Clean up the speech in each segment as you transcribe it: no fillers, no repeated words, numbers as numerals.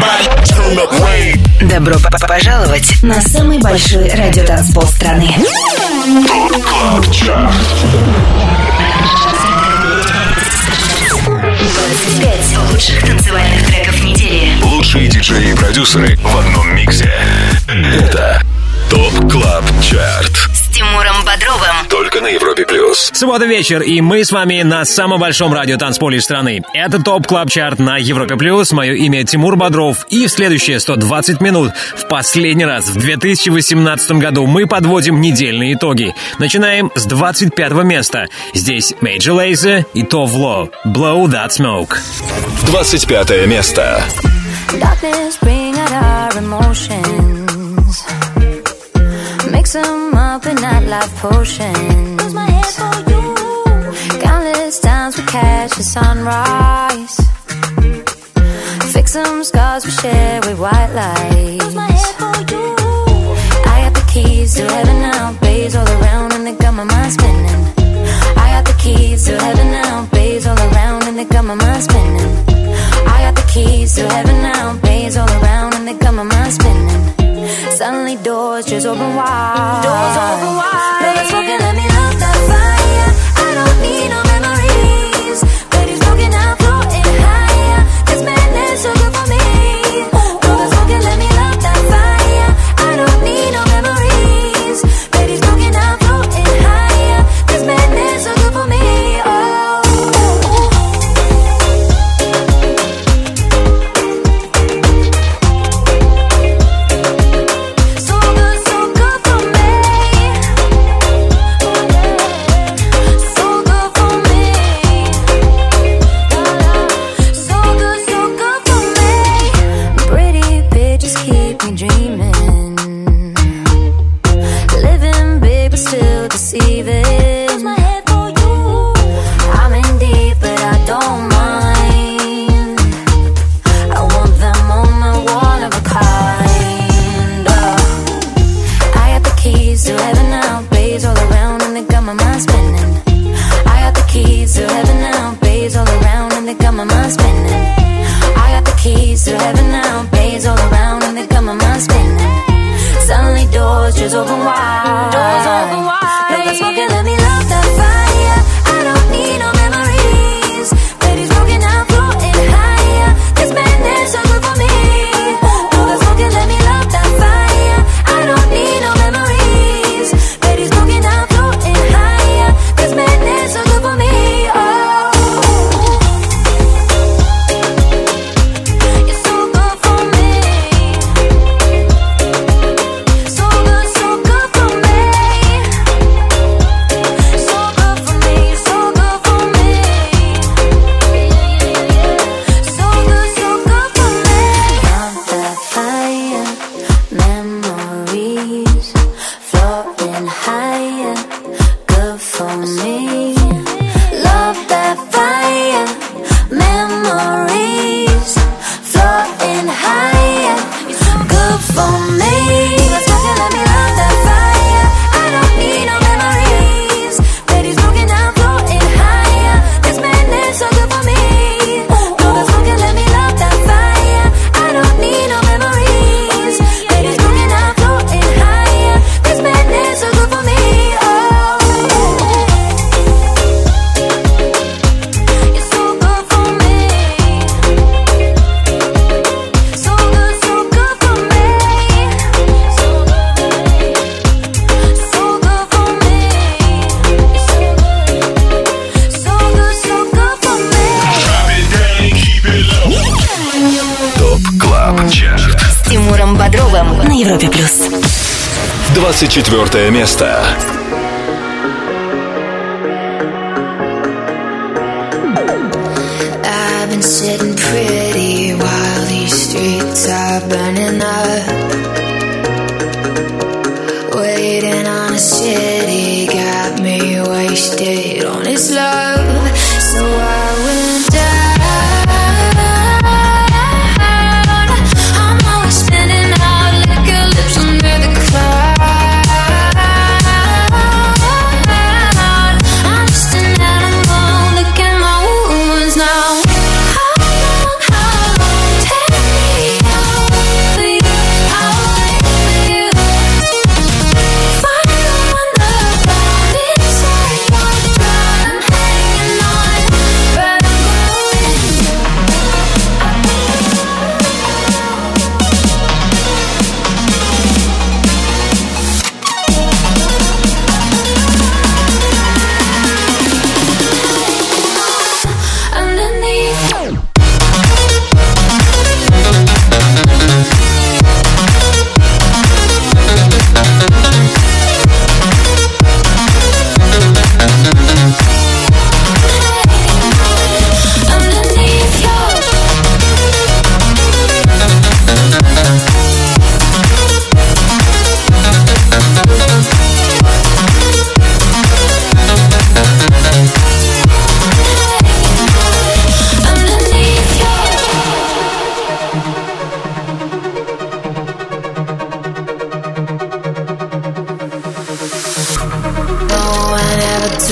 Добро пожаловать на самый большой радиотанцпол страны. ТОП КЛАБ ЧАРТ. 25 лучших танцевальных треков недели. Лучшие диджеи и продюсеры в одном миксе. Это ТОП КЛАБ ЧАРТ. С Тимуром Бодровым. Только на Европе Плюс. Суббота вечер, и мы с вами на самом большом радиотанцполе страны. Это ТОП КЛАБ ЧАРТ на Европе Плюс. Мое имя Тимур Бодров. И в следующие 120 минут, в последний раз в 2018 году, мы подводим недельные итоги. Начинаем с 25-го места. Здесь Major Lazer и Tove Lo. Blow That Smoke. 25 место. Darkness bring out our emotions. Mix them up in that life potion. Close my head for you. Countless times we catch the sunrise. Fix some scars we share with white lights. Close my head for you. I got the keys to heaven now. Bays all around and they got my mind spinning. I got the keys to heaven now. Bays all around and they got my mind spinning. I got the keys to heaven now. Bays all around and they got my mind spinning. Suddenly doors just open wide. Doors open wide. Blow that smoke and let me love that fire. I don't need no memories. Baby smoking, I'm floating higher. This madness so good for me. Blow that smoke and let me love that fire. I don't need no memories. Baby smoking, I'm floating higher. This madness so good for me. Just open wide. Doors open wide. Blow that smoke and let me love that fire. I don't need no memories. Baby smoking, I'm floating higher. This madness so good for me. Blow that smoke and let me love that fire. I don't need no memories. Baby smoking, I'm floating higher. This madness so good for me. На Европе Плюс. 24 место. I've been sitting pretty while these streets are burning up, waiting on a city, got me wasted on its love. So I went down. Take me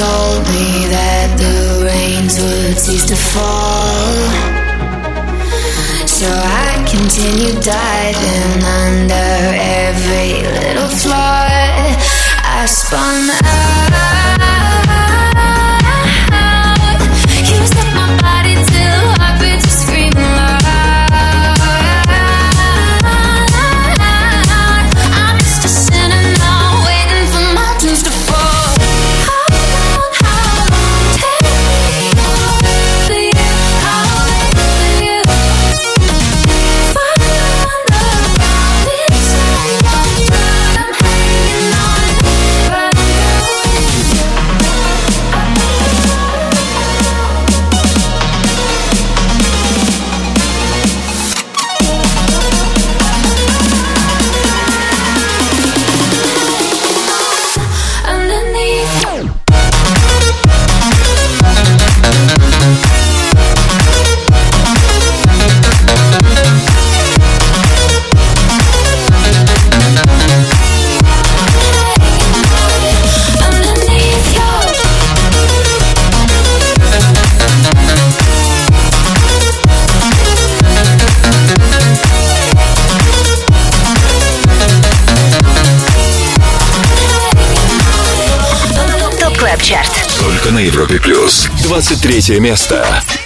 told me that the rains would cease to fall. So I continued diving under every little flaw. I spun out. You set my body till heartbeats were screaming loud. I'm just a sinner now, waiting for my dues to fall. How long, take me over you, I'll wait for you. Find love inside my blood, I'm hanging on, but I'm Только на Европе Плюс. 23 место.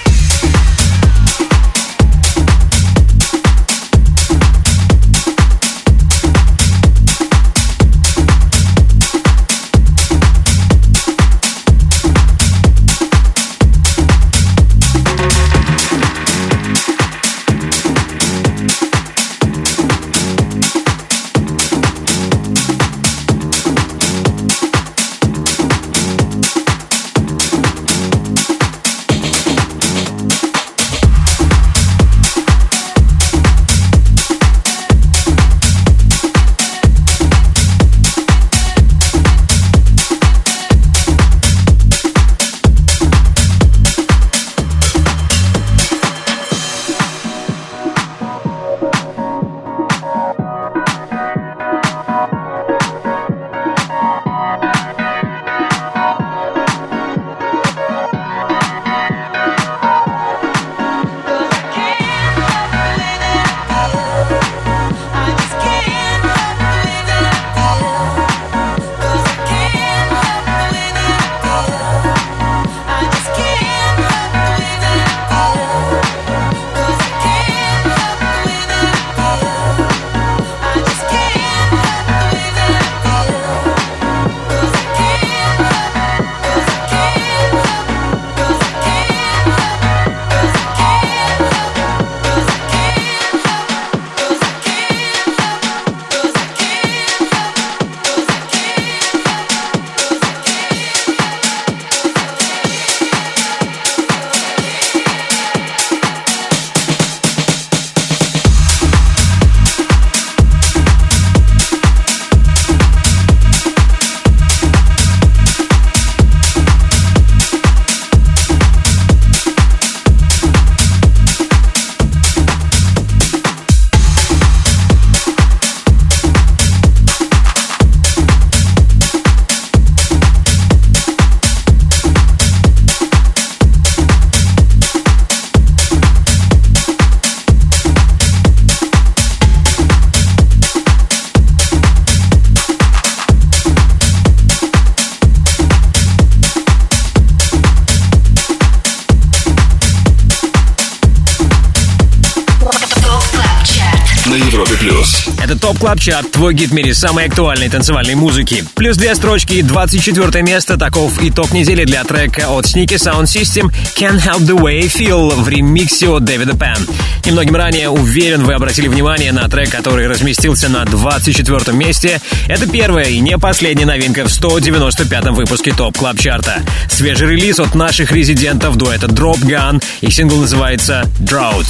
Это ТОП Клаб Чарт, твой гид в мире самой актуальной танцевальной музыки. Плюс 2 строчки и 24 место. Таков итог недели для трека от Sneaky Sound System Can't Help The Way I Feel в ремиксе от Дэвида Пен. Немногим ранее, уверен, вы обратили внимание на трек, который разместился на 24 месте. Это первая и не последняя новинка в 195-м выпуске ТОП Клаб Чарта. Свежий релиз от наших резидентов дуэта Drop Gun. Их сингл называется Drought.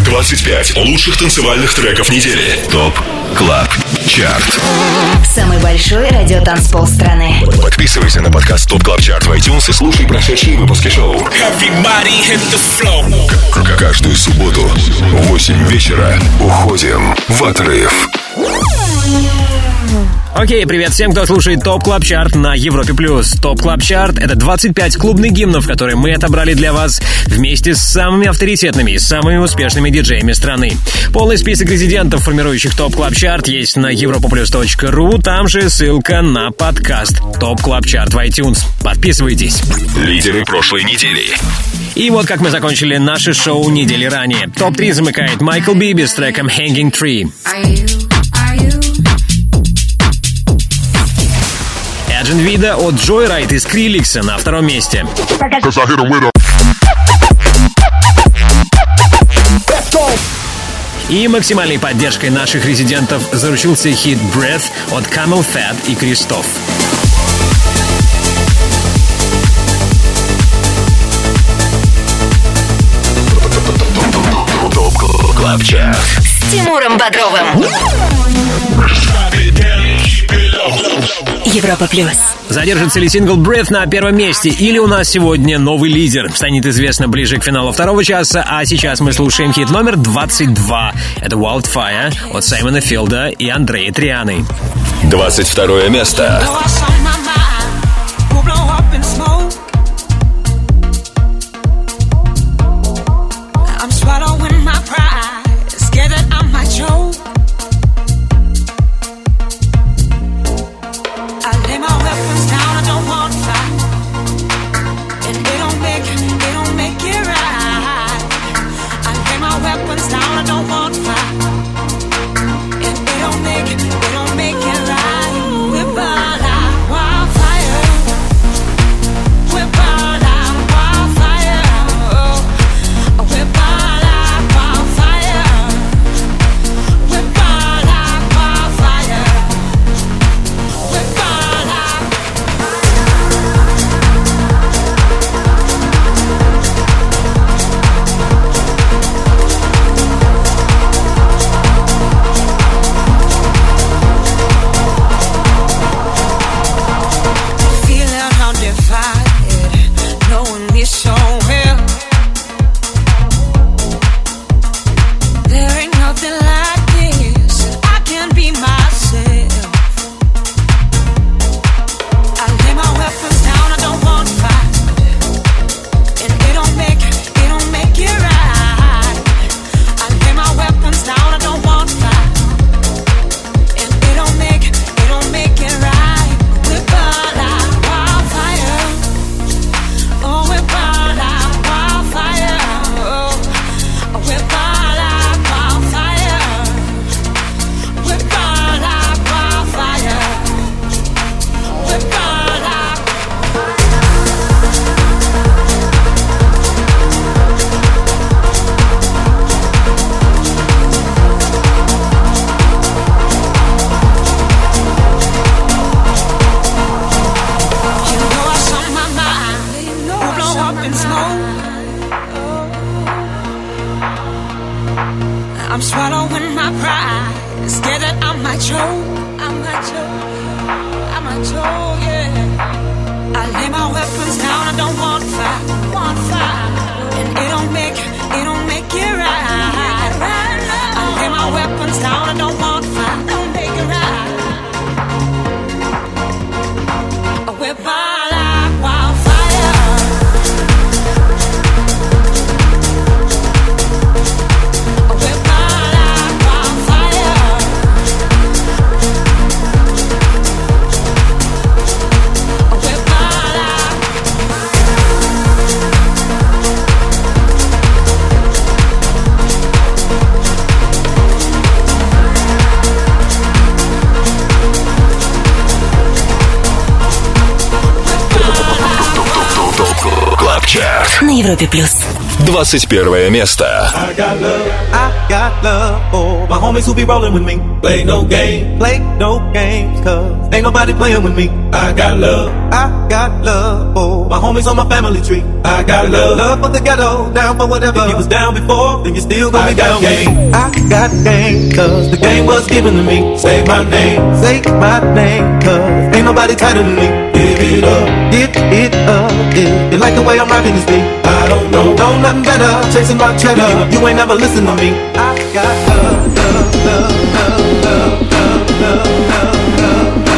25 лучших танцевальных треков недели. ТОП Клаб Чарт. Самый большой радиотанцпол страны. Подписывайся на подкаст ТОП Клаб Чарт в iTunes и слушай прошедшие выпуски шоу. Каждую субботу в 8 вечера уходим в отрыв. Окей, привет всем, кто слушает ТОП Клаб Чарт на Европе+. ТОП Клаб Чарт — это 25 клубных гимнов, которые мы отобрали для вас вместе с самыми авторитетными и самыми успешными диджеями страны. Полный список резидентов, формирующих ТОП Клаб Чарт, есть на europaplus.ru, там же ссылка на подкаст ТОП Клаб Чарт в iTunes. Подписывайтесь. Лидеры прошлой недели. И вот как мы закончили наше шоу недели ранее. ТОП-3 замыкает Майкл Биби с треком Hanging Tree. Эджен Вида от Joyride и Скриликса на втором месте. И максимальной поддержкой наших резидентов заручился хит Breath от Camel Fat и Кристоф. ТОП Клаб Чарт С Тимуром Бодровым. Европа Плюс. Задержится ли сингл Breath на первом месте, или у нас сегодня новый лидер? Станет известно ближе к финалу второго часа, а сейчас мы слушаем хит номер 22. Это Wildfire от Саймона Филда и Андрея Трианы. 22 место. На Европе Плюс. 21 место. I got love for my homies who be rolling with me. Play no games, cause ain't nobody playing with me. I got love for my homies on my family tree. I got love for the ghetto, down for whatever. If you was down before, then you still gonna be down. I got game, cause the game was given to me. Say my name, cause ain't nobody tighter than me. Give it up, if you like the way I'm rocking this beat. I don't know nothing better, chasing my cheddar. You ain't never listen to me. I got love.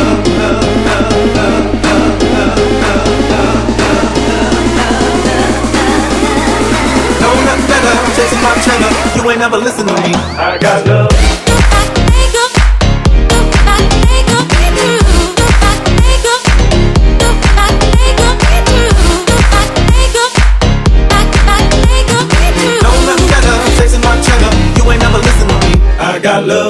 ain't never listen to me. I got love. I got love.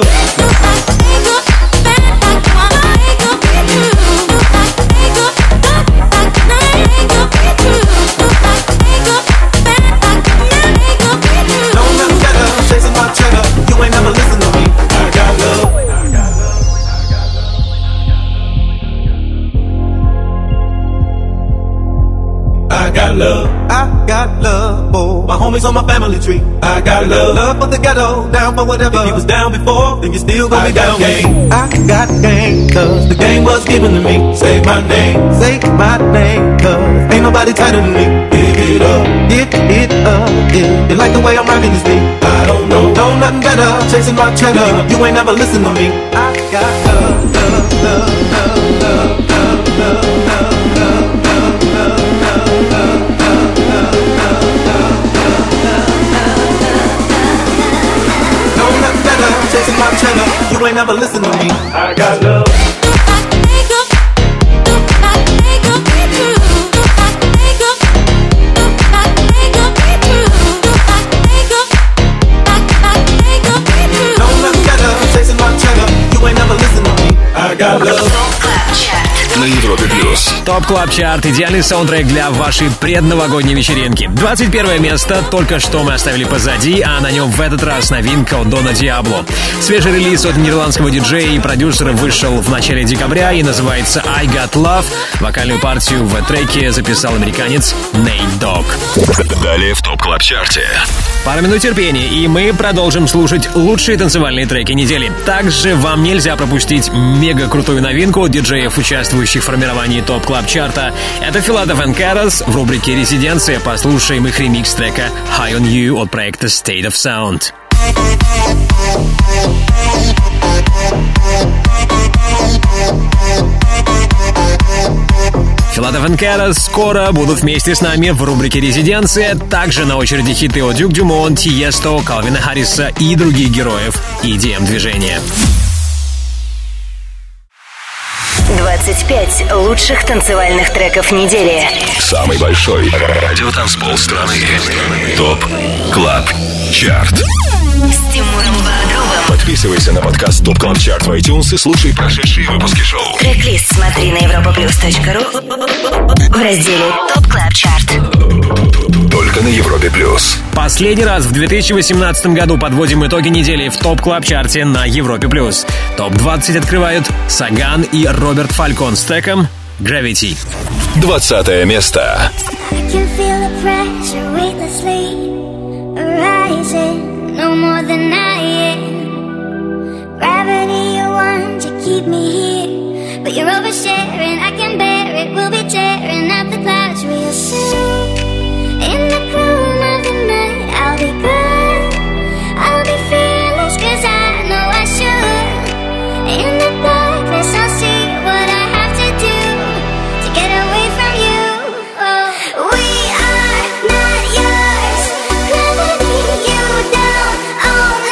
Love. I got love for my homies on my family tree. I got love. Love for the ghetto, down for whatever. If you was down before, then you still gonna be down. Game. I got game, cause the game was given to me. Say my name, cause ain't nobody tighter than me. Give it up, if you like the way I'm rocking this beat. I don't know nothing better, chasing my cheddar. You ain't never listen to me. I got love, love, love, love, love, love, love, love. Chasing my cheddar, you ain't never listen to me. I got love. Chasing my cheddar, you ain't never listen to me. I got love. На Европе Плюс. ТОП Клаб Чарт. Идеальный саундтрек для вашей предновогодней вечеринки. 21 место только что мы оставили позади, а на нем в этот раз новинка от Дона Диабло. Свежий релиз от нидерландского диджея и продюсера вышел в начале декабря и называется I Got Love. Вокальную партию в треке записал американец Nate Dogg. Далее в ТОП Клаб Чарте. Пара минут терпения, и мы продолжим слушать лучшие танцевальные треки недели. Также вам нельзя пропустить мега крутую новинку от диджеев, участвующих в формировании ТОП Клаб Чарта. Это Philadelphia and Caras в рубрике «Резиденция». Послушаем их ремикс трека High on You от проекта State of Sound. Philadelphia and Caras скоро будут вместе с нами в рубрике «Резиденция». Также на очереди хиты от Дюк Дюмон, Тиесто, Калвина Харриса и других героев EDM-движения. 25 лучших танцевальных треков недели. Самый большой радиотанцпол страны. ТОП Клаб Чарт. С Тимуром Бодровым. Подписывайся на подкаст ТОП Клаб Чарт в iTunes и слушай прошедшие выпуски шоу. Трек-лист смотри на europaplus.ru в разделе ТОП Клаб Чарт. Только на Европе Плюс. Последний раз в 2018 году подводим итоги недели в ТОП Клаб Чарте на Европе Плюс. ТОП-20 открывают Саган и Роберт Фалькон с треком Gravity. 20 место. No more than I am. Gravity, you want to keep me here, but you're oversharing. I can bear it. We'll be tearing up the clouds real soon. In the gloom of the night, I'll be good. I'll be fearless 'cause I know I should. In the darkness, I'll see what I have to do to get away from you. Oh, we are not yours. Gravity, you don't own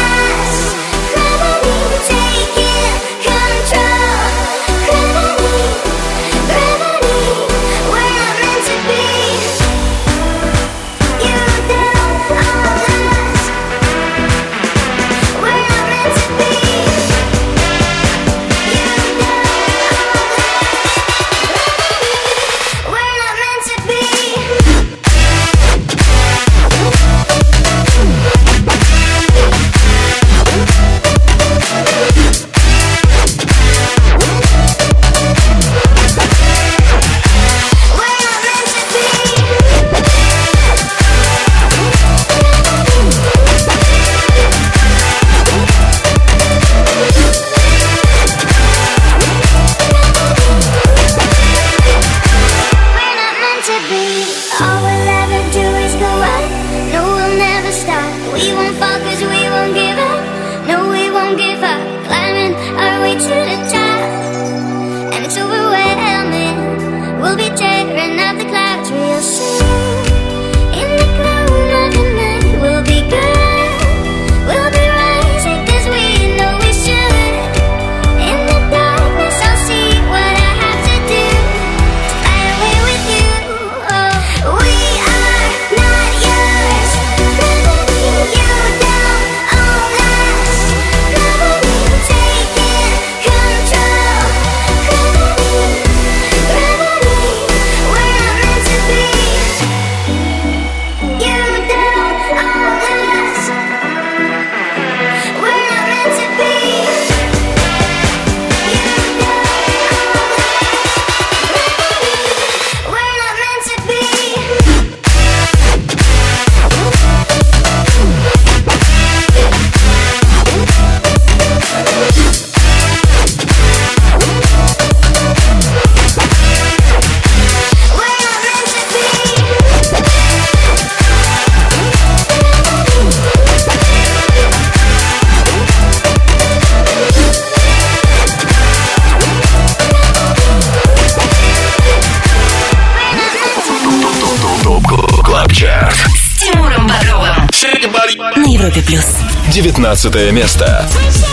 Европе+. 19 место.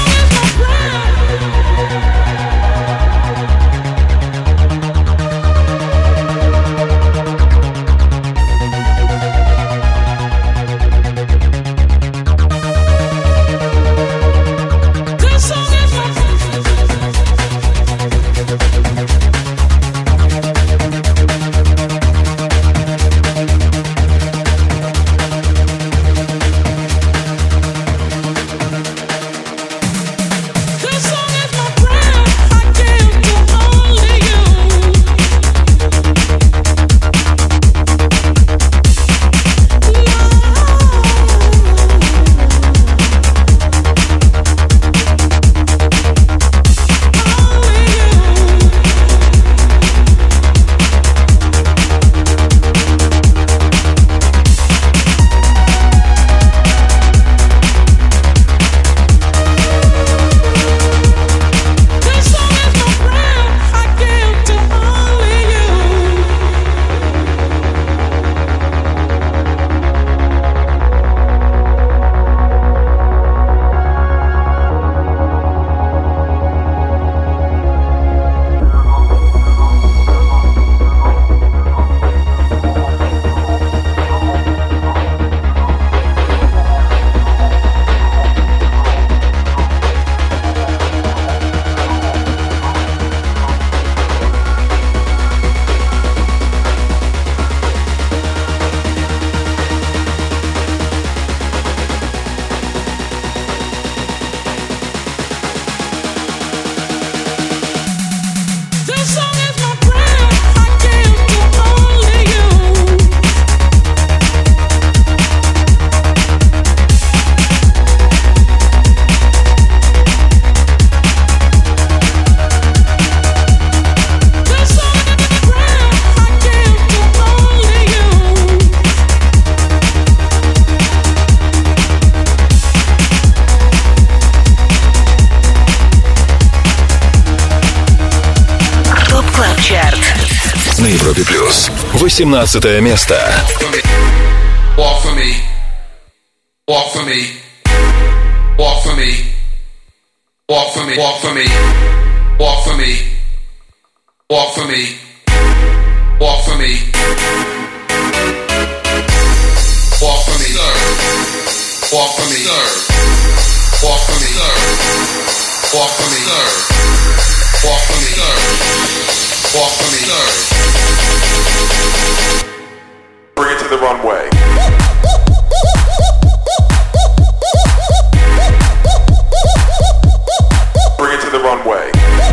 На Европе Плюс. 18 место. Walk for me. Walk for me. Walk for me. Walk for me. Walk for me. Walk for me. Walk for me. Walk for me. Walk for me. Walk for me. Walk for me. Walk for me. Walk for me. Walk for me. Bring it to the runway. Bring it to the runway.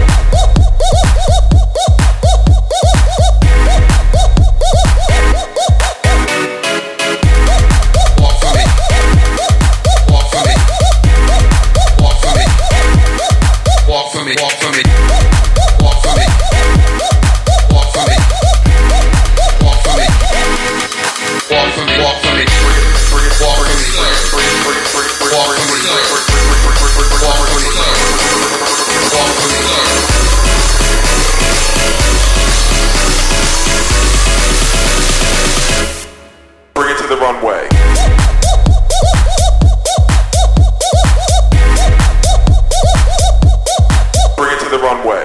Walk for me. Walk for me. Walk for me. Walk for me. Walk for me. Walk for me. Walk for me. Walk for me. Walk for me. Walk for me. Bring it. Walk for me. Bring it. Walk for me. Walk for me. Walk for me. Bring it to the runway. Bring it to the runway.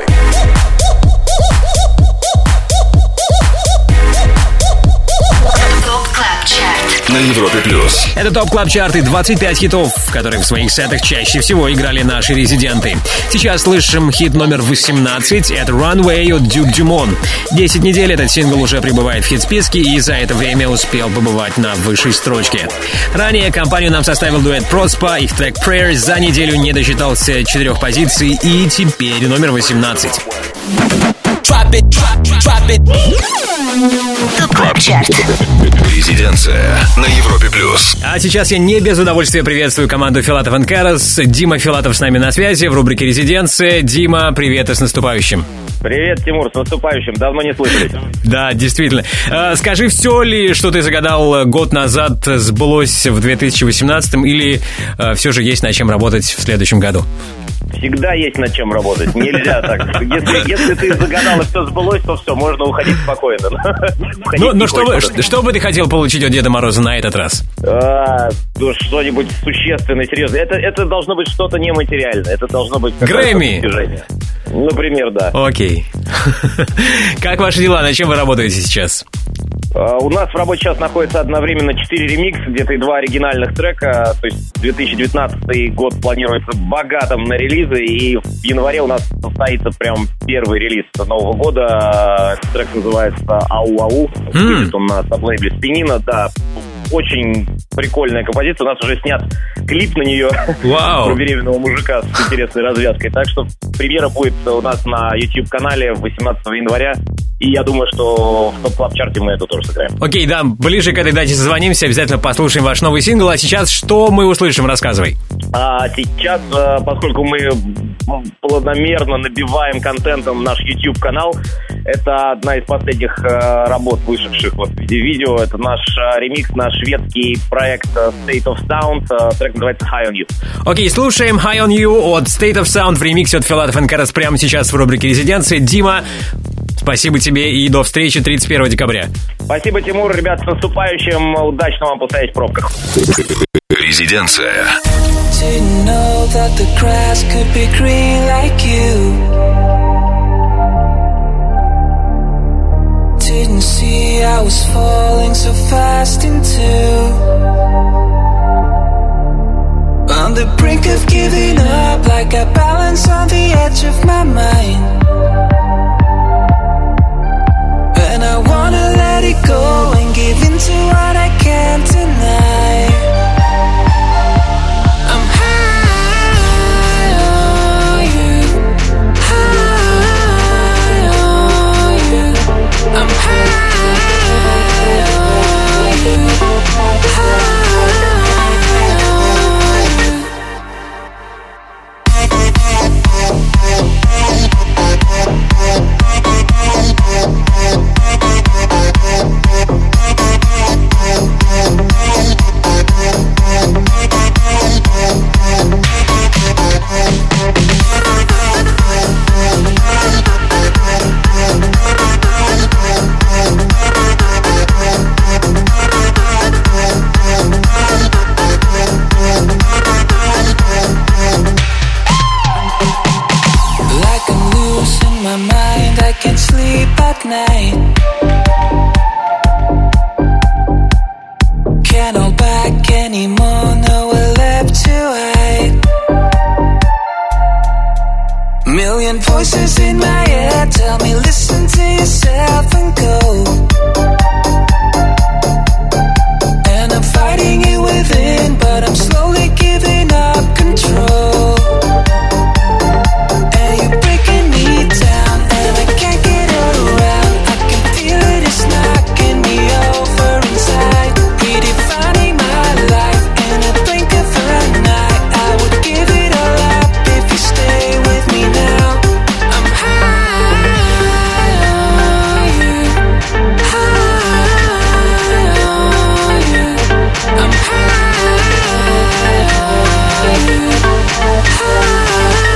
ТОП Клаб Чарт. На Европе Плюс. Это ТОП Клаб Чарт и 25 хитов, которые в своих сетах чаще всего играли наши резиденты. Сейчас слышим хит номер 18. Это Runway от Duke Dumont. 10 недель этот сингл уже пребывает в хит-списке и за это время успел побывать на высшей строчке. Ранее компанию нам составил дуэт Prospa. Их трек Prayers за неделю не досчитался 4 позиций и теперь номер 18. ТОП Клаб Чарт. Резиденция на Европе Плюс. А сейчас я не без удовольствия приветствую команду Филатов & Карас. Дима Филатов с нами на связи в рубрике «Резиденция». Дима, привет и с наступающим. Привет, Тимур, с наступающим. Давно не слышались. Да, действительно. Скажи, все ли, что ты загадал год назад, сбылось в 2018 или все же есть над чем работать в следующем году? Всегда есть над чем работать. Нельзя так. Если ты загадал и все сбылось, то все, можно уходить спокойно. Ну, что бы ты хотел получить от Деда Мороза на этот раз? Что-нибудь существенное, серьезное. Это должно быть что-то нематериальное. Это должно быть... Грэмми! Например, да. Окей. Как ваши дела? На чем вы работаете сейчас? У нас в рабочий час находится одновременно 4 ремикса, где-то и 2 оригинальных трека. То есть 2019 год планируется богатым на релизы, и в январе у нас состоится прям первый релиз Нового года. Этот трек называется «Ау-ау». Выйдет он на саблейбле «Спинина», да. Очень прикольная композиция. У нас уже снят клип на нее. Вау. Про беременного мужика с интересной развязкой. Так что премьера будет у нас на YouTube-канале 18 января. И я думаю, что в топ-клаб-чарте мы это тоже сыграем. Окей, да, ближе к этой дате созвонимся, обязательно послушаем ваш новый сингл. А сейчас что мы услышим? Рассказывай. Сейчас, поскольку мы планомерно набиваем контентом наш YouTube-канал, это одна из последних работ, вышедших вот в виде видео. Это наш ремикс на шведский проект State of Sound. Трек называется High on You. Окей, слушаем High on You от State of Sound в ремиксе от Филатов & Карас прямо сейчас в рубрике «Резиденция». Дима, спасибо тебе и до встречи 31 декабря. Спасибо, Тимур. Ребят, с наступающим. Удачно вам постоять в пробках. Резиденция. Didn't know that the grass could be green like you. Didn't see I was falling so fast into. On the brink of giving up, like I balance on the edge of my mind. And I wanna let it go and give in to what I can't deny. I'm high on you, high on you. I'm high on you, high on you. Night. Can't hold back anymore, nowhere left to hide. Million voices in my head tell me listen to yourself and go. And I'm fighting it within, but I'm slowly giving up control. And you're breaking me down, and I can't get it around. Knocking me over inside, redefining my life in a blink of an eye. I would give it all up if you stay with me now. I'm high on you, high on you. I'm high on you, high on you.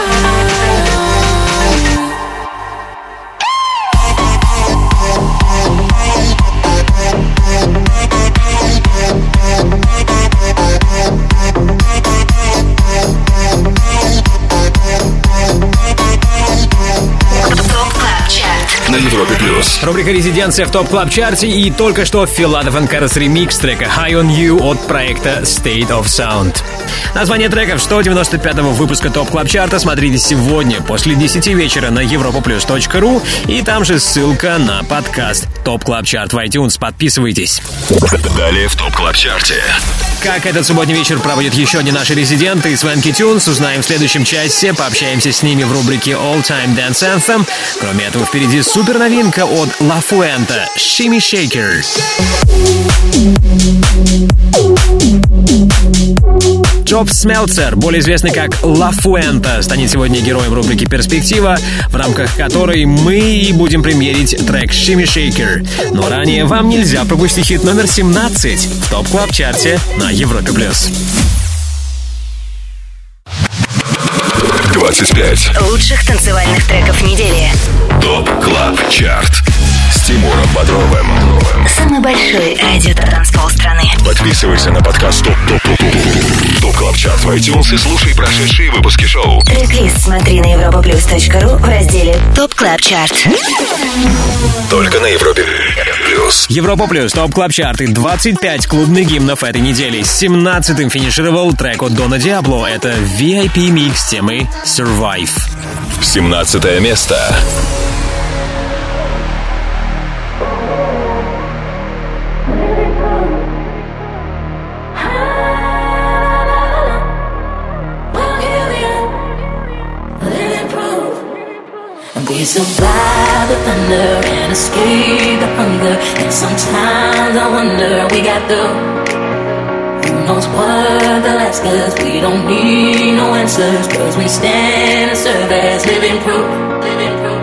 На Европе Плюс. Рубрика «Резиденция» в топ-клаб-чарте. И только что Филатов & Карас ремикс трека High on You от проекта State of Sound. Название треков 195-го выпуска топ-клаб-чарта смотрите сегодня после 10 вечера на europaplus.ru. И там же ссылка на подкаст топ-клаб-чарт в iTunes. Подписывайтесь. Далее в топ-клаб-чарте. Как этот субботний вечер проводят еще одни наши резиденты из Свенки Тюнс, узнаем в следующем часе, пообщаемся с ними в рубрике All Time Dance Anthem. Кроме этого, впереди супер новинка от La Fuente Shimmy Shaker. Джоб Смелцер, более известный как Ла Фуэнта, станет сегодня героем рубрики «Перспектива», в рамках которой мы и будем премьерить трек «Shimmy Shaker». Но ранее вам нельзя пропустить хит номер 17 в ТОП Клаб Чарте на Европе+. 25 лучших танцевальных треков недели. ТОП Клаб Чарт с Тимуром Бодровым. Самый большой радио-транспол страны. Подписывайся на подкаст ТОП Клаб Чарт в iTunes и слушай прошедшие выпуски шоу. Трек-лист смотри на europaplus.ru в разделе ТОП Клаб Чарт. Только на Европе+. Европа Плюс, ТОП Клаб Чарты, 25 клубных гимнов этой недели. С 17-м финишировал трек от Дона Диабло. Это VIP микс темы Survive. 17 место. We survive the thunder and escape the hunger. And sometimes I wonder we got through. Who knows what they'll ask us? We don't need no answers, cause we stand and serve as living proof. Living proof.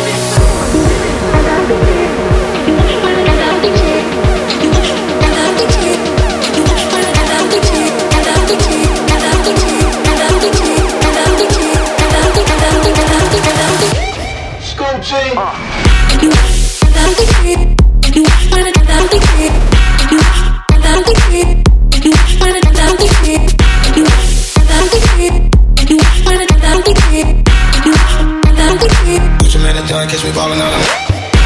Catch me ballin' out of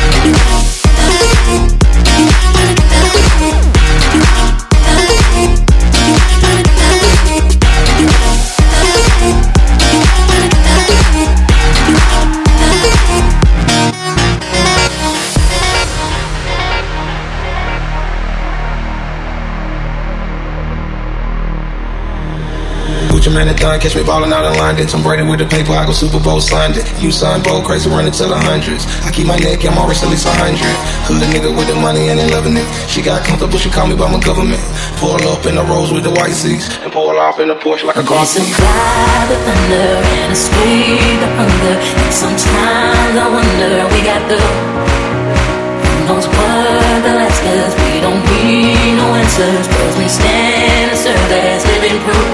man it done, catch me ballin' out in London. Tom Brady with the paper, I go Super Bowl signed it. You signed bold, crazy running to the hundreds. I keep my neck and my wrist at least 100. Hood nigga with the money and they loving it. She got comfortable, she call me by my government. Pull up in the Rolls with the white seats and pull off in the Porsche like a car. We survive the thunder and escape the hunger. And sometimes I wonder we got through. Who knows what they'll ask us? We don't need no answers, cause we stand and serve as living proof.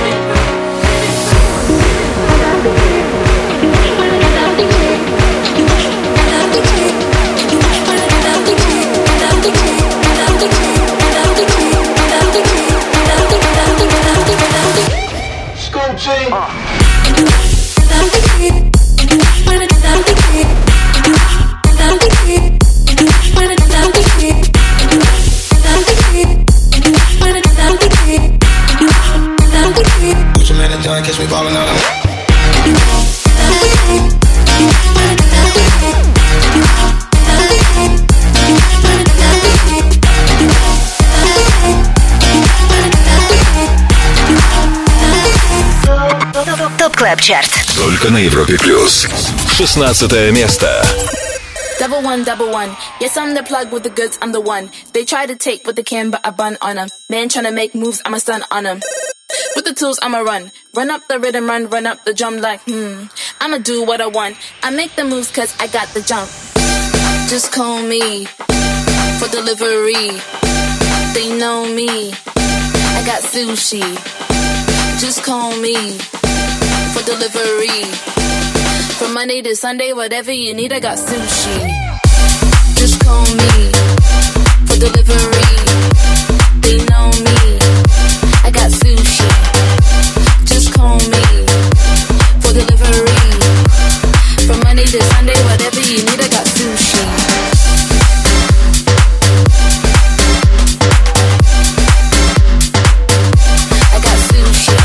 Catch me ballin' out of ТОП Клаб Чарт. Только на Европе Плюс. 16 место. Double one, yes I'm the plug with the goods, I'm the one. They try to take what they can but I bun on them. Man tryna make moves, I'm a stun on them. With the tools I'ma run up the rhythm, run up the drum like I'ma do what I want. I make the moves cause I got the jump. Just call me for delivery. They know me, I got sushi. Just call me for delivery. From Monday to Sunday, whatever you need, I got sushi. Just call me for delivery. They know me, I got sushi. Just call me for delivery. From Monday to Sunday, whatever you need, I got sushi. I got sushi.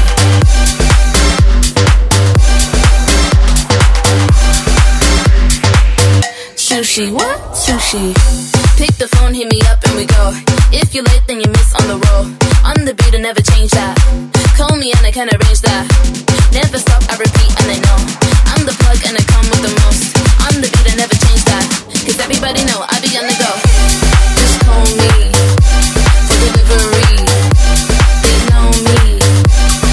Sushi, what? Sushi. Pick the phone, hit me up and we go. If you're late, then you miss on the roll. On the beat, I never change that. Call me and I can arrange that. Never stop, I repeat and I know. I'm the plug and I come with the most. On the beat, I never change that. Cause everybody know I be on the go. Just call me for delivery. They know me,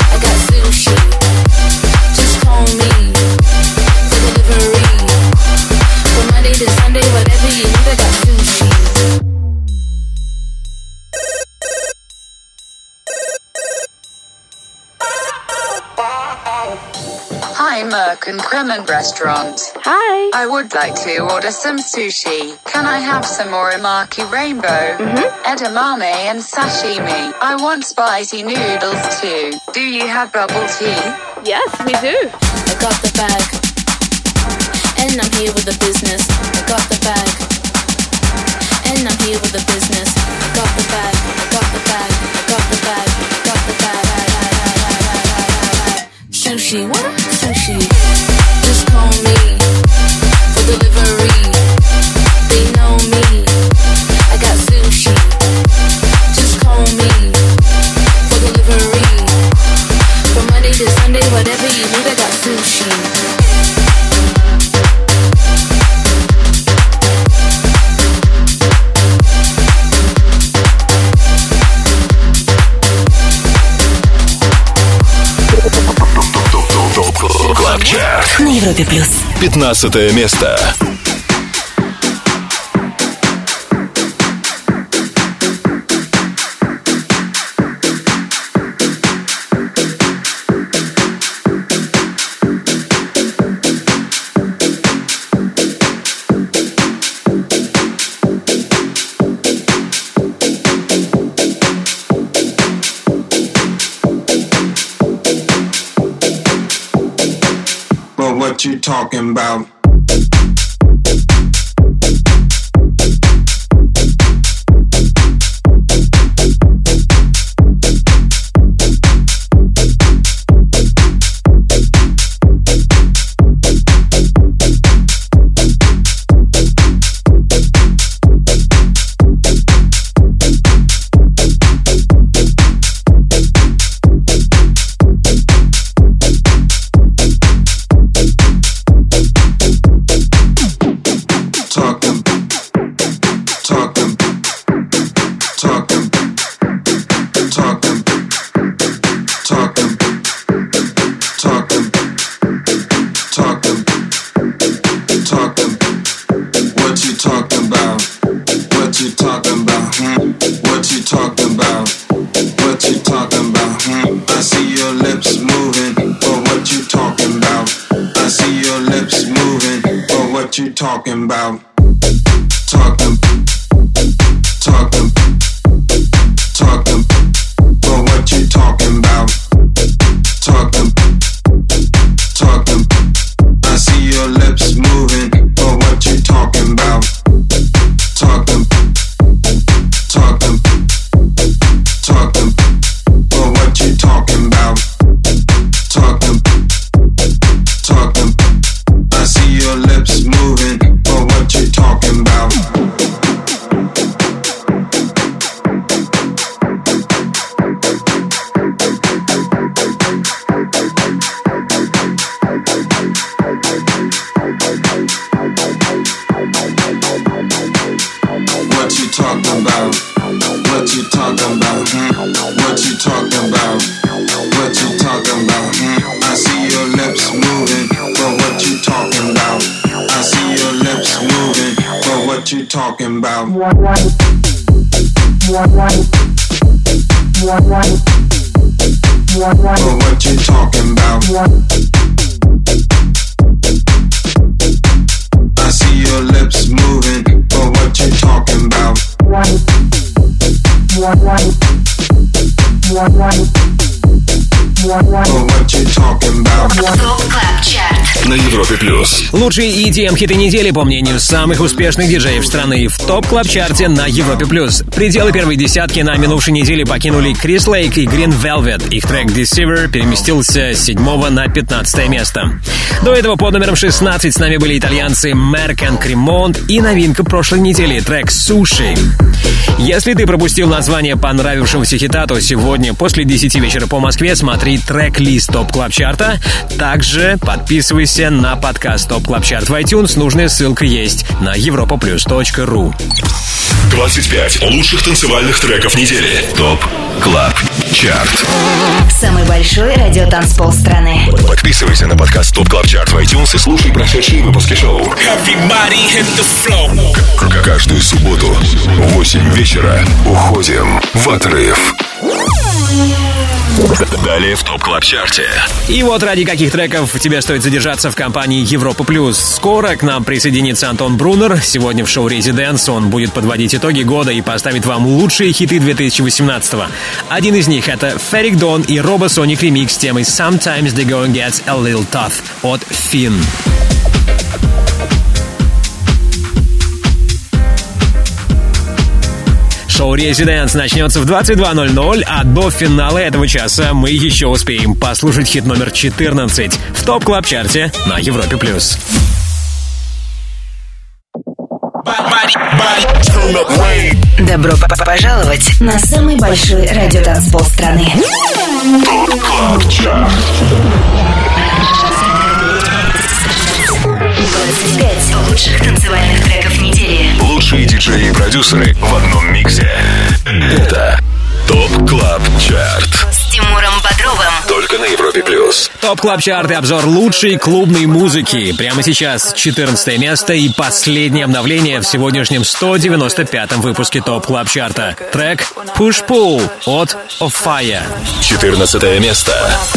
Hi, Merck and Cremant Restaurant. Hi. I would like to order some sushi. Can I have some uramaki rainbow, edamame and sashimi? I want spicy noodles too. Do you have bubble tea? Yes, we do. I got the bag, and I'm here with the business. I got the bag, and I'm here with the business. I got the bag, I got the bag, I got the bag, I got the bag. Sushi, what? Sushi. Just call me for delivery. They know me. I got sushi. Just call me for delivery. From Monday to Sunday, whatever you need, I got sushi. Клаб Чарт На Европе Плюс. 15 место. What you talking about? Talking about talking, but what you talking about? Talking, I see your lips moving, but what you talking about? Talking, but what you talking about? Talking, I see your lips moving, but what you talking about? What you talking about? What you talking about? What you talking about? What you talking about? I see your lips moving, but what you talking about? I see your lips moving, but what you talking about? But what you talking about? I see your lips moving, but what you talking about? But what you talking about? На Европе Плюс. Лучшие EDM-хиты недели, по мнению самых успешных диджеев страны, в ТОП-клаб-чарте на Европе Плюс. Пределы первой десятки на минувшей неделе покинули Крис Лейк и Green Velvet. Их трек Deceiver переместился с 7 на 15 место. До этого под номером 16 с нами были итальянцы Merck and Cremant и новинка прошлой недели, трек Sushi. Если ты пропустил название понравившегося хита, то сегодня после 10 вечера по Москве смотри трек-лист ТОП-клаб-чарта. Также подписывайся на подкаст ТОП-клаб-чарт в iTunes. Нужная ссылка есть на europaplus.ru. 25 лучших танцевальных треков недели. ТОП Клаб Чарт. Самый большой радиотанцпол страны. Подписывайся на подкаст ТОП Клаб Чарт в iTunes и слушай прошедшие выпуски шоу. Каждую субботу в 8 вечера уходим в отрыв. Далее в ТОП Клаб Чарте. И вот ради каких треков тебе стоит задержаться в компании Европа Плюс. Скоро к нам присоединится Антон Брунер. Сегодня в шоу «Резиденс» он будет подводить итоги года и поставить вам лучшие хиты 2018-го. Один из них — это Ferric Dawn и Robosonic ремикс темы «Sometimes the Going Gets a Little Tough» от Finn. Шоу «Резиденс» начнется в 22:00, а до финала этого часа мы еще успеем послушать хит номер 14 в ТОП Клаб Чарте на Европе+. Добро пожаловать на самый большой радиотанцпол страны. ТОП Клаб Чарт. 25 лучших танцевальных треков недели. Лучшие диджеи и продюсеры в одном миксе. Это ТОП Клаб Чарт. С Тимуром Бодровым. Только на Европе+. ТОП Клаб Чарт и обзор лучшей клубной музыки. Прямо сейчас 14 место и последнее обновление в сегодняшнем 195-м выпуске ТОП Клаб Чарта. Трек Push Pull от Of Fire. 14 место.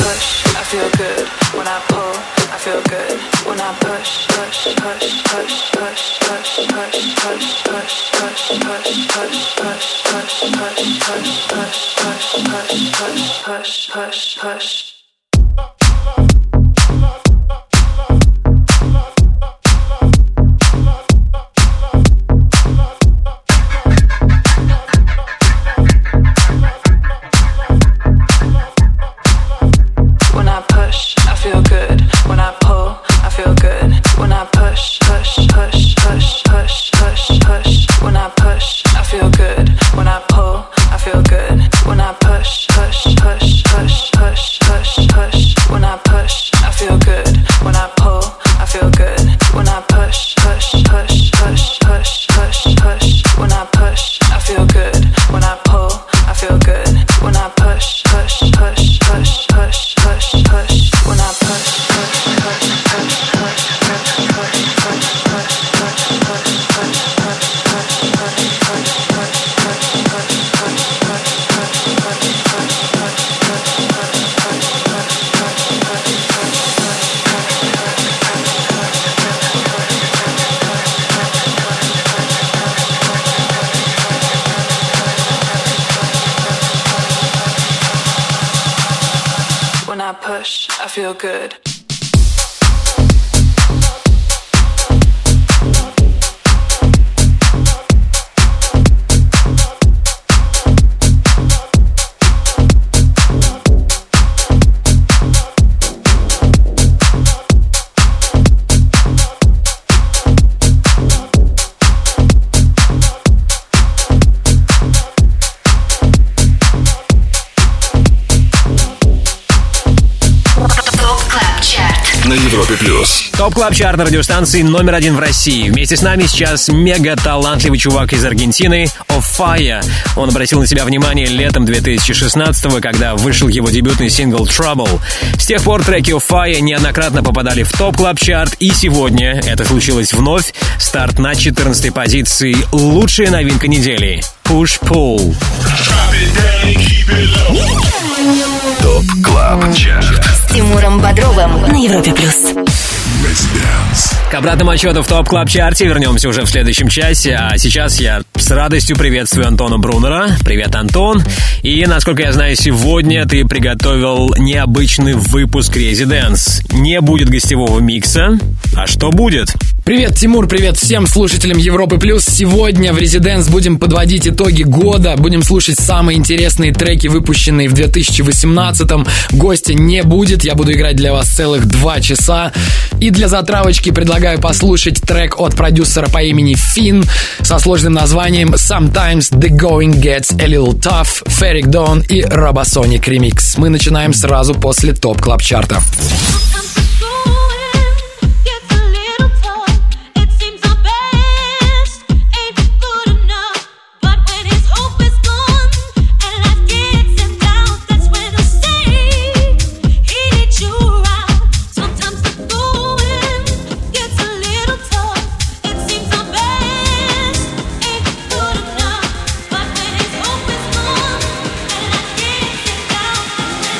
Feel good. На Европе Плюс. ТОП Клаб Чарт на радиостанции номер 1 в России. Вместе с нами сейчас мега талантливый чувак из Аргентины Of Fire. Он обратил на себя внимание летом 2016-го, когда вышел его дебютный сингл Trouble. С тех пор треки Of Fire неоднократно попадали в ТОП Клаб Чарт, и сегодня это случилось вновь. Старт на 14-й позиции. Лучшая новинка недели. Push Pull. ТОП Клаб Чарт. С Тимуром Бодровым на Европе+. К обратному отчету в ТОП Клаб Чарте вернемся уже в следующем часе, а сейчас я с радостью приветствую Антона Брунера. Привет, Антон. И, насколько я знаю, сегодня ты приготовил необычный выпуск «Резиденс». Не будет гостевого микса. А что будет? Привет, Тимур, привет всем слушателям Европы Плюс. Сегодня в «Резиденс» будем подводить итоги года, будем слушать самые интересные треки, выпущенные в 2018-м. Гостя не будет, я буду играть для вас целых 2 часа. И для затравочки предлагаю послушать трек от продюсера по имени Finn со сложным названием «Sometimes the Going Gets a Little Tough», Ferric Dawn и Robosonic ремикс. Мы начинаем сразу после ТОП Клаб Чарта. Down.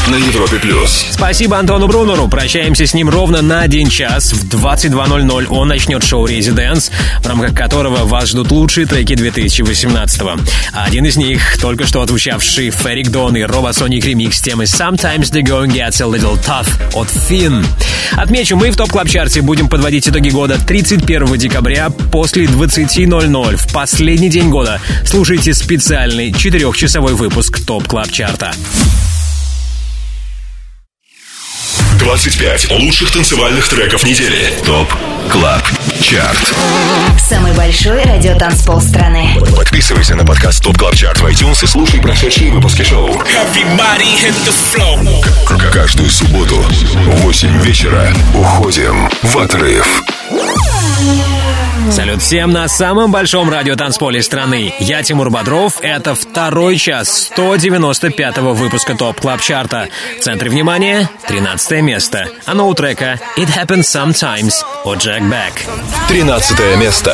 на Европе+. Спасибо Антону Брунеру. Прощаемся с ним ровно на 1 час. В 22:00 он начнет шоу «Резиденс», в рамках которого вас ждут лучшие треки 2018-го. Один из них — только что отзвучавший Ферик Дон и Робосоник ремикс темы «Sometimes the going gets a little tough» от Finn. Отмечу, мы в ТОП Клаб Чарте будем подводить итоги года 31 декабря после 20:00. В последний день года слушайте специальный 4-часовой выпуск ТОП Клаб Чарта. 25 лучших танцевальных треков недели. ТОП Клаб Чарт. Самый большой радиотанцпол страны. Подписывайся на подкаст ТОП Клаб Чарт в iTunes и слушай прошедшие выпуски шоу. Каждую субботу в 8 вечера уходим в отрыв. Салют всем на самом большом радиотанцполе страны. Я Тимур Бодров. Это 2-й час 195-го выпуска ТОП Клаб Чарта. В центре внимания 13 место. А у трека «It Happens Sometimes» от Jack Beck. 13 место.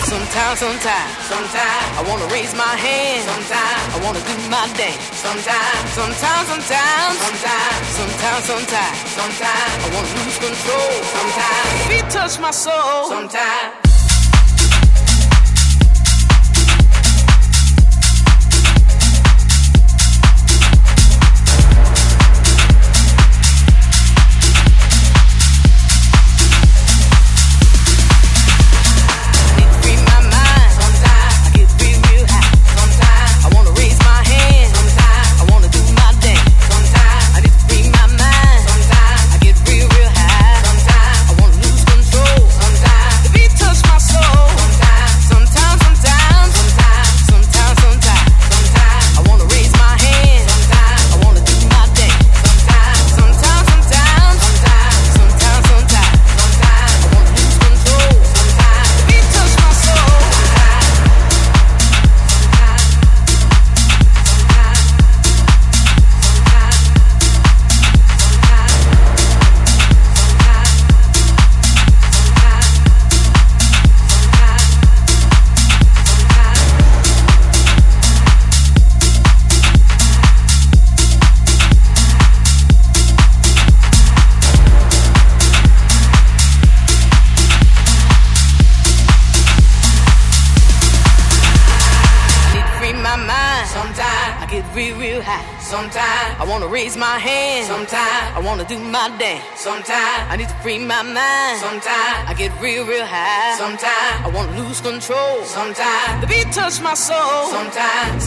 Sometimes I need to free my mind. Sometimes I get real, real high. Sometimes I wanna lose control. Sometimes the beat touch my soul. Sometimes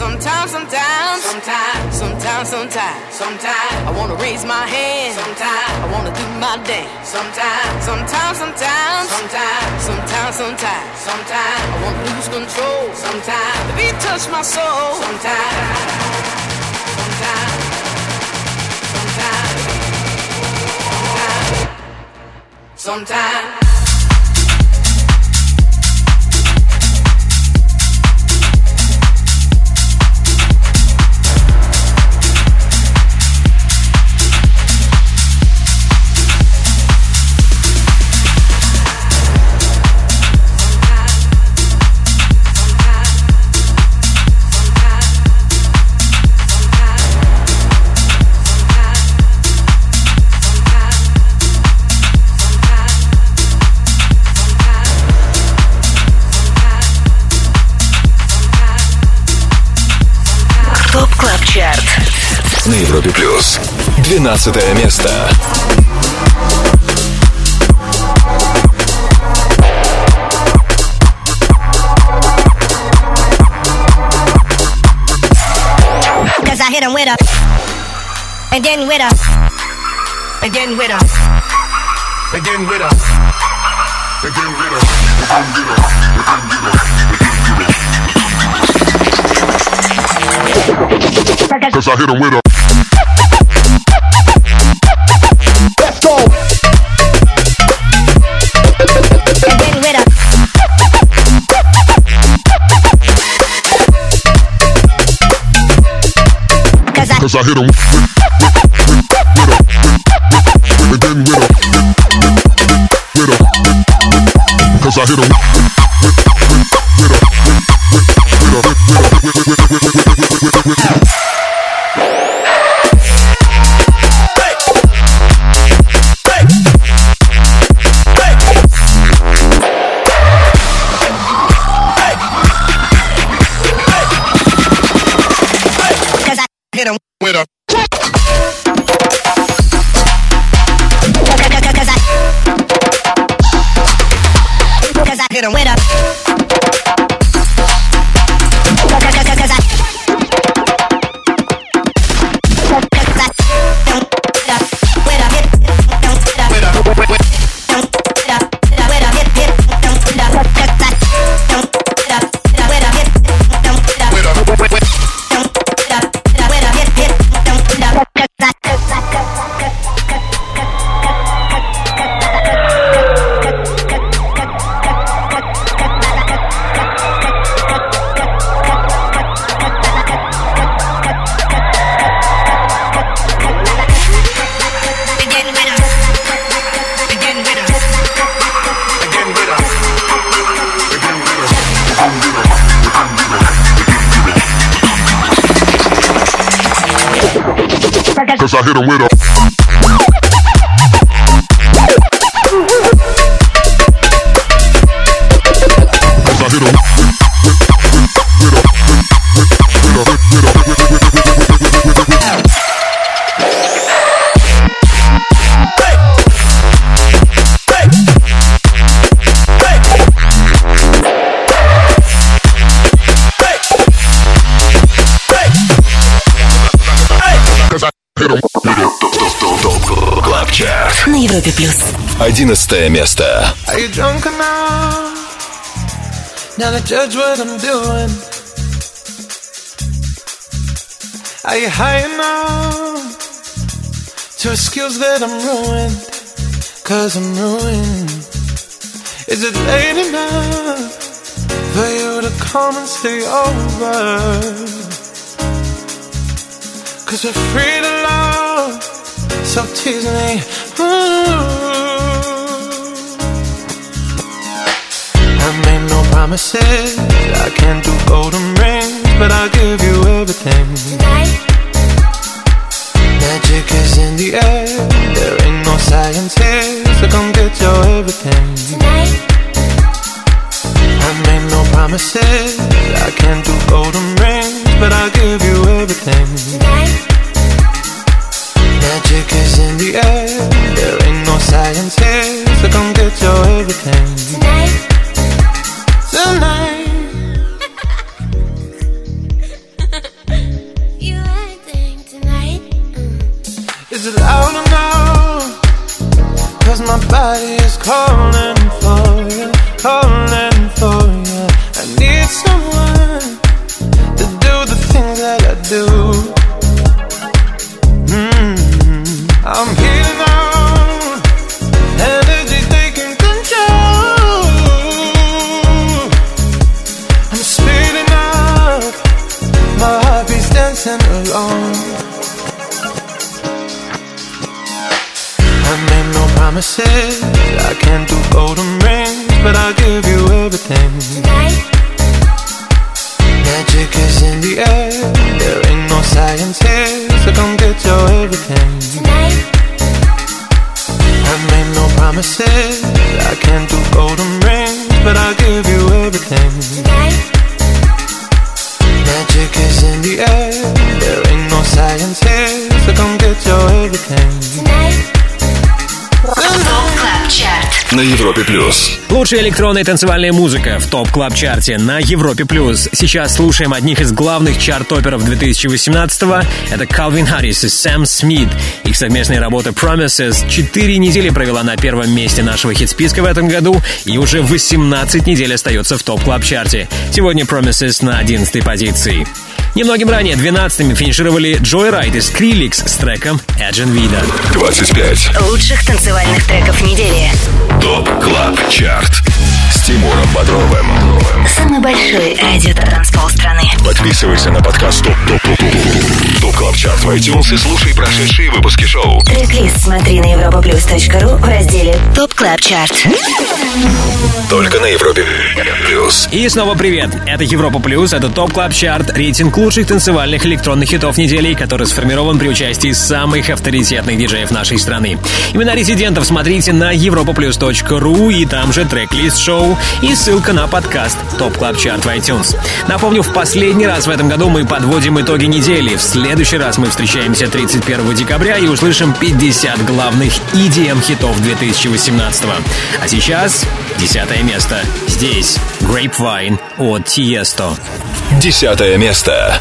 I wanna raise my hand. Sometimes I wanna do my dance. Sometimes I wanna lose control. Sometimes the beat touch my soul. Sometimes. На Европе Плюс. 12 место. Cause I hit him with a, and then with a, and then with a, and then with a, and then with a, Cause I hit him with a. Let's go. And then with a. Cause I hit him with a. And then with a. Cause I hit him with a. with a. Cause I hit him with a. Cause I hit him with a. Cause I hit him на Европе плюс. 11 место. Are you drunk enough now to judge what I'm doing? Are you high enough to excuse that I'm ruined? Cause I'm ruined. Is it late enough for you to come and stay over? Cause we're free to love, so tease me. I made no promises, I can't do golden rings, but I'll give you everything. Tonight. Magic is in the air, there ain't no science here, so come get your everything. Tonight. I made no promises, I can't do golden rings, but I'll give you everything. Tonight. Magic is in the air, there ain't no science here, so come get your everything. Tonight. Tonight. You acting tonight. Is it loud enough? Cause my body is calling for you, calling for you. I need someone to do the things that I do. I'm healing out, energy taking control. I'm speeding up, my heartbeat's dancing alone. I made no promises, I can't do golden rings, but I'll give you everything. Tonight. Magic is in the air, there ain't no science here, so come get your everything. Tonight. I made no promises, I can't do golden rings, but I'll give you everything. Tonight. Magic is in the air, there ain't no science here, so come get your everything. Tonight. На Европе плюс. Лучшая электронная и танцевальная музыка в ТОП Клаб Чарте на Европе плюс. Сейчас слушаем одних из главных чарт-топеров 2018-го. Это Calvin Harris и Сэм Смит. Их совместная работа Promises 4 недели провела на первом месте нашего хит-списка в этом году и уже 18 недель остается в ТОП Клаб Чарте. Сегодня Promises на 11-й позиции. Немногим ранее 12-ми финишировали Joyride и Skrillex с треком Agent Vida. 25 лучших танцевальных треков недели. ТОП Клаб Чарт с Тимуром Бодровым. Самый большой радио-транспол страны. Подписывайся на подкаст ТОП Клаб Чарт в iTunes и слушай прошедшие выпуски шоу. Трек-лист смотри на europaplus.ru в разделе ТОП Клаб Чарт. Только на Европе плюс. И снова привет. Это Европа плюс, это ТОП Клаб Чарт, рейтинг лучших танцевальных электронных хитов недели, который сформирован при участии самых авторитетных диджеев нашей страны. Имена резидентов смотрите на europaplus.ru, и там же трек-лист шоу и ссылка на подкаст ТОП Клаб Чарт в iTunes. Напомню, в последний раз в этом году мы подводим итоги недели. В следующий раз мы встречаемся перемещаемся 31 декабря и услышим 50 главных EDM-хитов 2018. А сейчас 10 место. Здесь Grapevine от Tiesto. 10 место.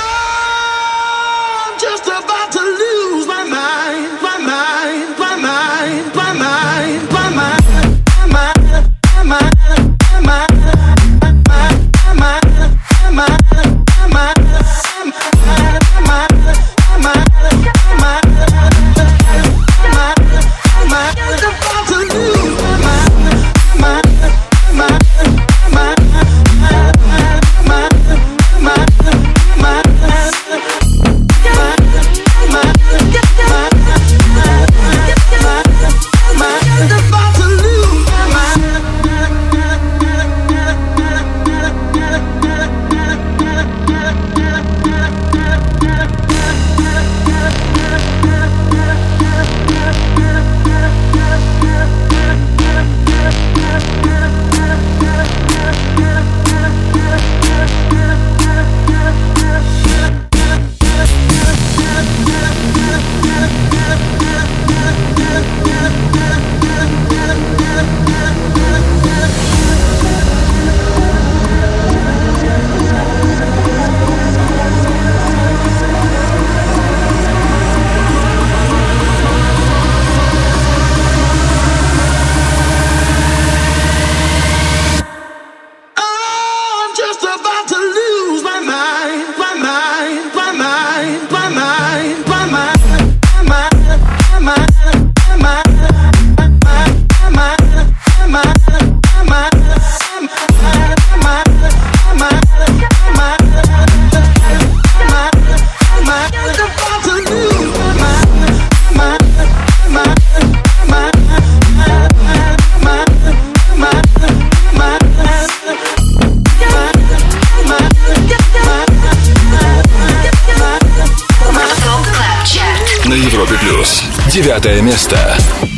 На Европе Плюс. 9 место.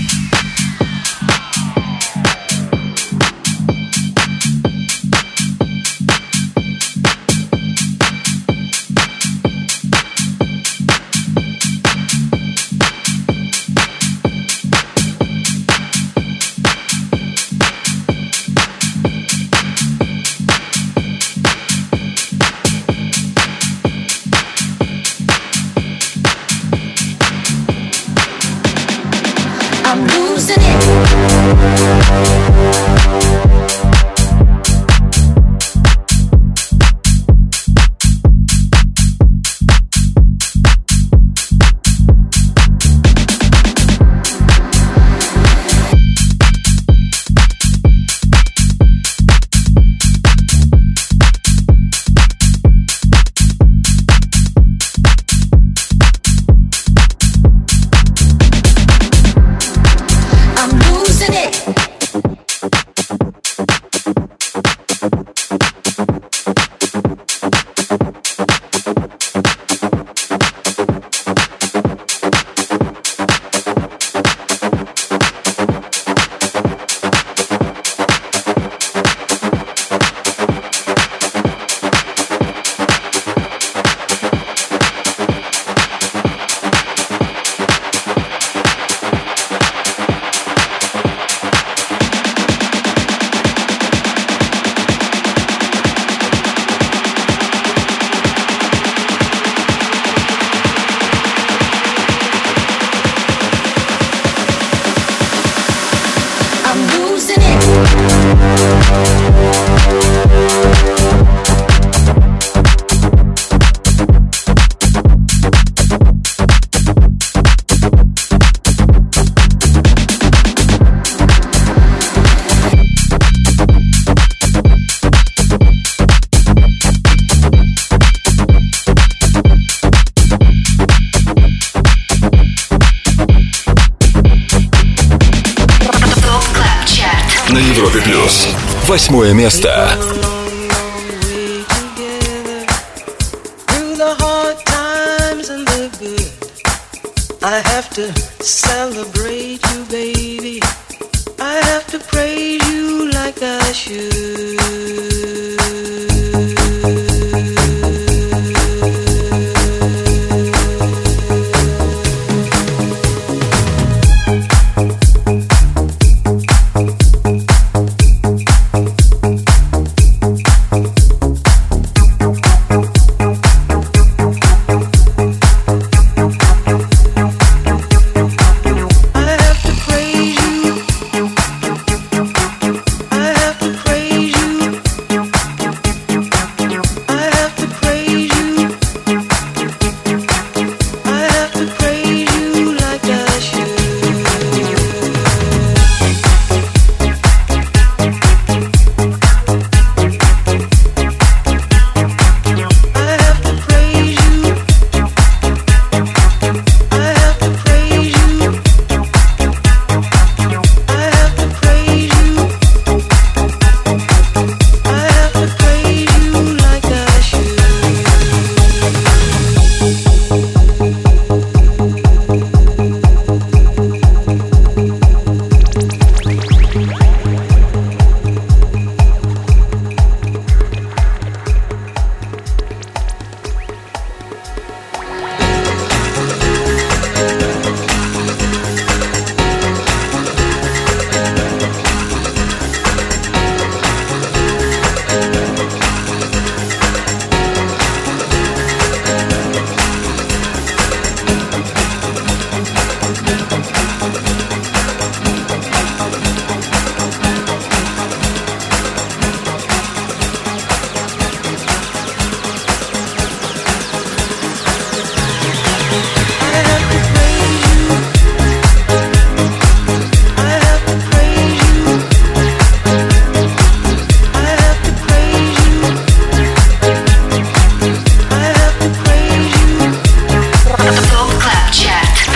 На Европе Плюс. 8 место. I have to celebrate you, baby. I have to praise you like I should.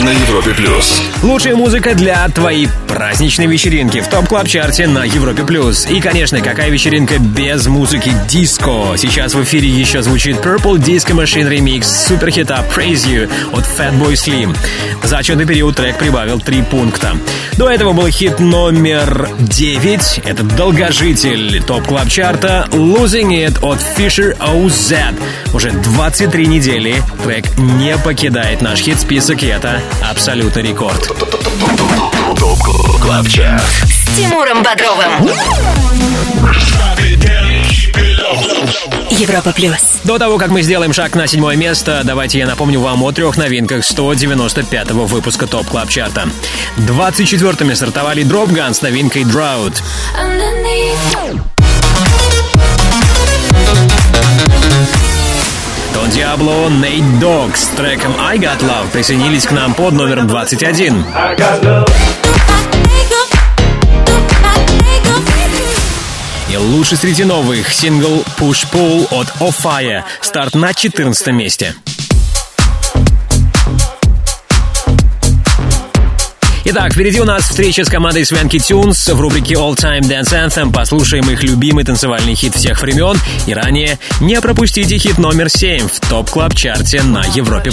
на Европе+. Лучшая музыка для твоей праздничной вечеринки в ТОП-клаб-чарте на Европе+. И, конечно, какая вечеринка без музыки диско? Сейчас в эфире еще звучит Purple Disco Machine ремикс суперхита Praise You от Fatboy Slim. За отчетный период трек прибавил 3 пункта. До этого был хит номер 9. Это долгожитель ТОП-клаб-чарта Losing It от Fisher OZ. Уже 23 недели трек не покидает наш хит-список, и это абсолютный рекорд. ТОП-клаб-чарт С Тимуром Бодровым. Европа плюс. До того, как мы сделаем шаг на 7 место, давайте я напомню вам о 3 новинках 195-го выпуска ТОП-клаб-чарта. 24-ми стартовали Drop Gun с новинкой Drought. Don Diablo, Nate Dogg с треком I Got Love присоединились к нам под номером 21. И лучший среди новых сингл Push Pull от Off Fire. Старт на 14 месте. Итак, впереди у нас встреча с командой Swanky Tunes в рубрике All Time Dance Anthem. Послушаем их любимый танцевальный хит всех времен. И ранее не пропустите хит номер 7 в ТОП-клаб-чарте на Европе+.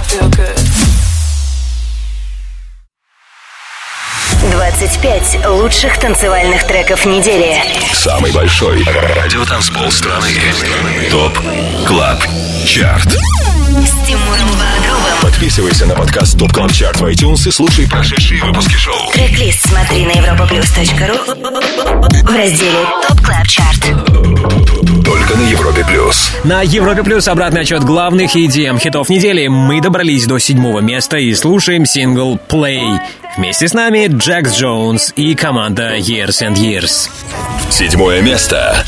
25 лучших танцевальных треков недели. Самый большой радиотанцпол страны. ТОП Клаб Чарт. С Тимуром Бодровым. Подписывайся на подкаст ТОП Клаб Чарт в iTunes и слушай прошедшие выпуски шоу. Трек-лист смотри на europaplus.ru в разделе ТОП Клаб Чарт. Только на Европе+. На Европе+ обратный отчет главных EDM хитов недели. Мы добрались до 7-го места и слушаем сингл Play. Вместе с нами Джекс Джонс и команда Years and Years. 7 место.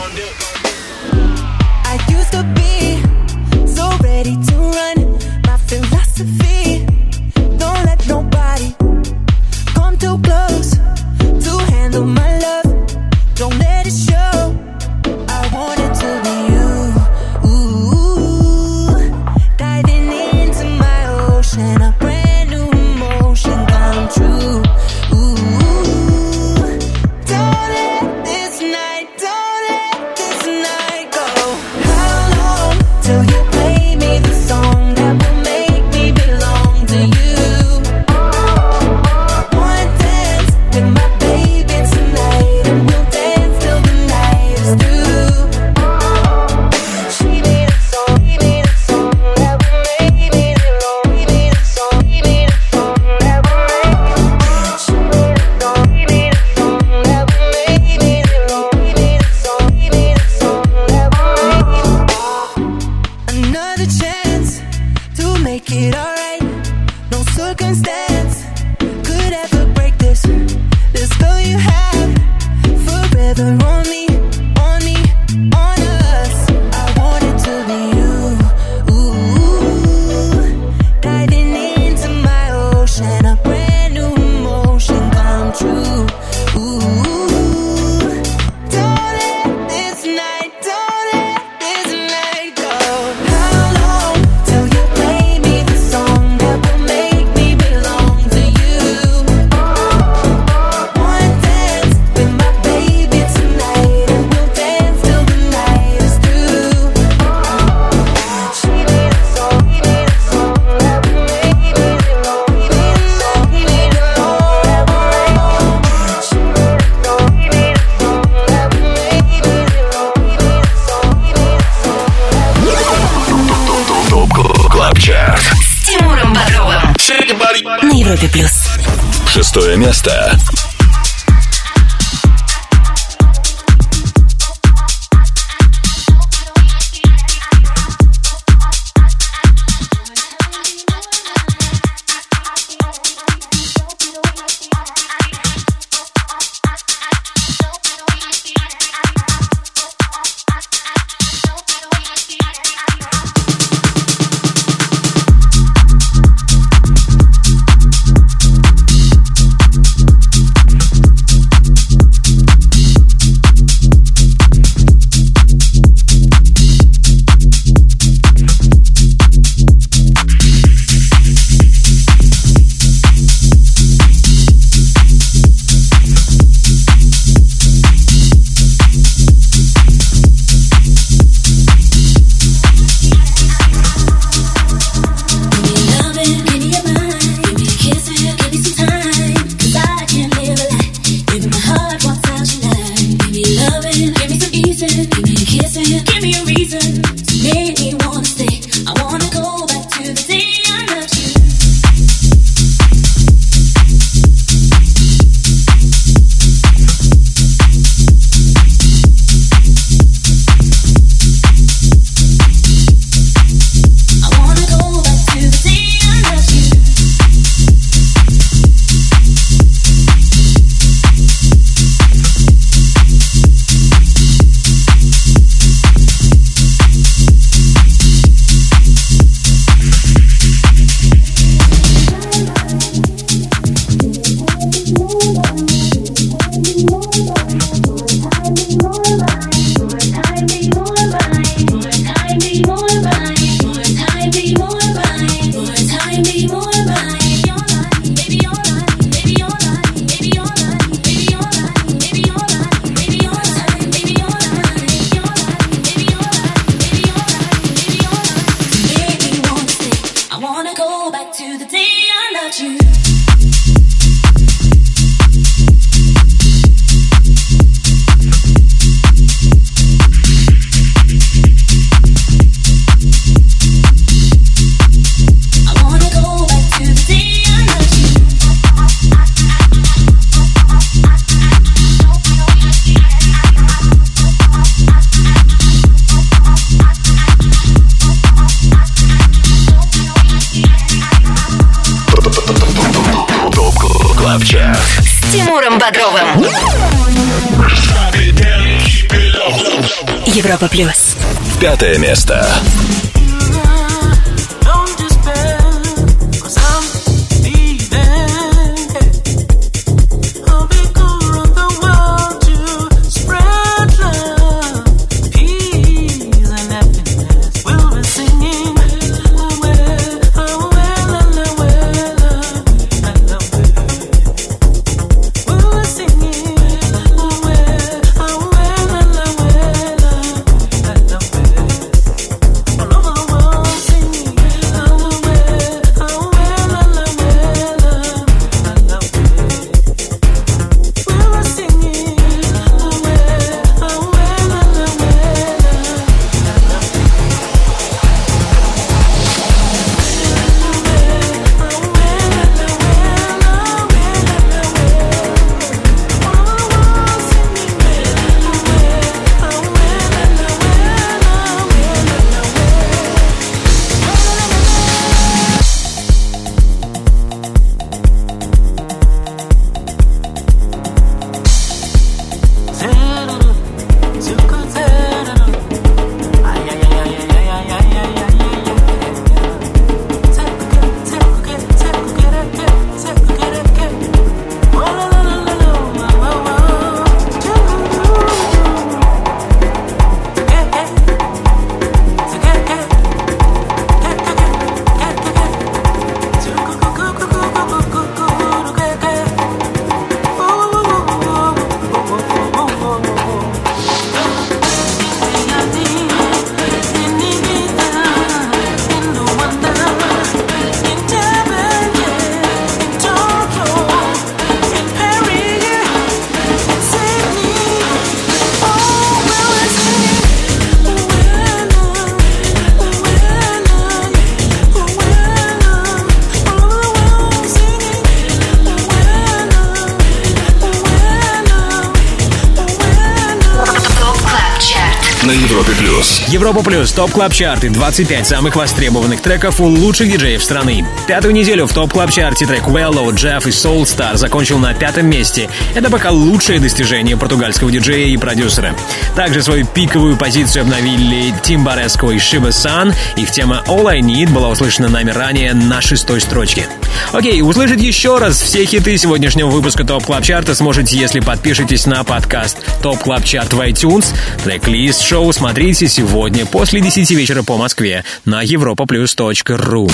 На Европе плюс. 6 место. wanna go back to the day I loved you. С Тимуром Бодровым. Европа плюс. 5 место. Европа плюс, топ клаб чарты, 25 самых востребованных треков у лучших диджеев страны. Пятую неделю в топ клаб чарте трек Wello, Jeff и Soul Star закончил на 5 месте. Это пока лучшее достижение португальского диджея и продюсера. Также свою пиковую позицию обновили Тим Бареско и Shiba San. Их тема All I Need была услышана нами ранее на 6-й строчке. Окей, услышать еще раз все хиты сегодняшнего выпуска ТОП Клаб Чарта сможете, если подпишетесь на подкаст ТОП Клаб Чарт в iTunes. Трек-лист шоу смотрите сегодня после 10 вечера по Москве на europaplus.ru.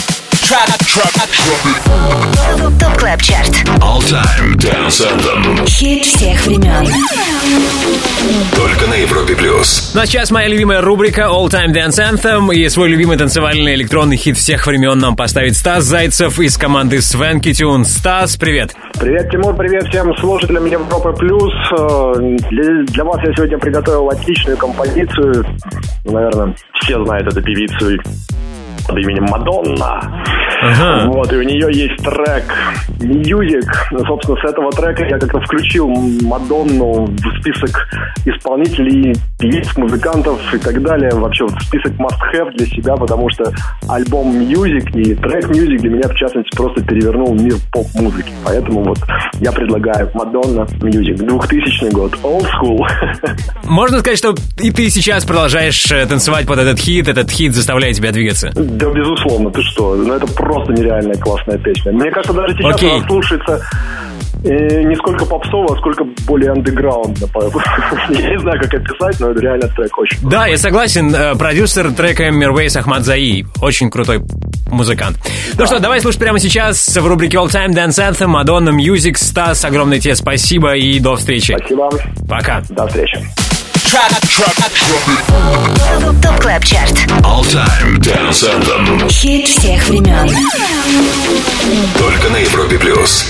ТОП Клаб Чарт. All Time Dance Anthem. Хит всех времен. Только на Европе плюс. Ну а сейчас моя любимая рубрика All Time Dance Anthem. И свой любимый танцевальный электронный хит всех времен нам поставит Стас Зайцев из команды Swanky Tune. Стас, привет. Привет, Тимур, привет всем слушателям Европы плюс. Для вас я сегодня приготовил отличную композицию. Наверное, все знают эту певицу под именем Мадонна. Вот, и у нее есть трек Music. Собственно, с этого трека я как-то включил Мадонну в список исполнителей, певиц, музыкантов и так далее. Вообще в список must-have для себя, потому что альбом Music и трек Music для меня, в частности, просто перевернул мир поп-музыки. Поэтому вот я предлагаю Мадонна Music. 2000 год. Old school. Можно сказать, что и ты сейчас продолжаешь танцевать под этот хит заставляет тебя двигаться? Да, безусловно, ты что? Ну, это просто нереальная классная песня. Мне кажется, даже сейчас она слушается не сколько попсово, а сколько более андеграундно. Я не знаю, как описать, но это реально трек очень крутой. Да, я согласен. Продюсер трека Мирвейс Ахмадзаи. Очень крутой музыкант. Ну что, давай слушать прямо сейчас в рубрике All Time Dance Anthem Madonna Music. Стас, огромное тебе спасибо и до встречи. Спасибо. Пока. До встречи. ТОП КЛАБ ЧАРТ. All Time Dance Anthem. Хит всех времен. Только на Европе плюс.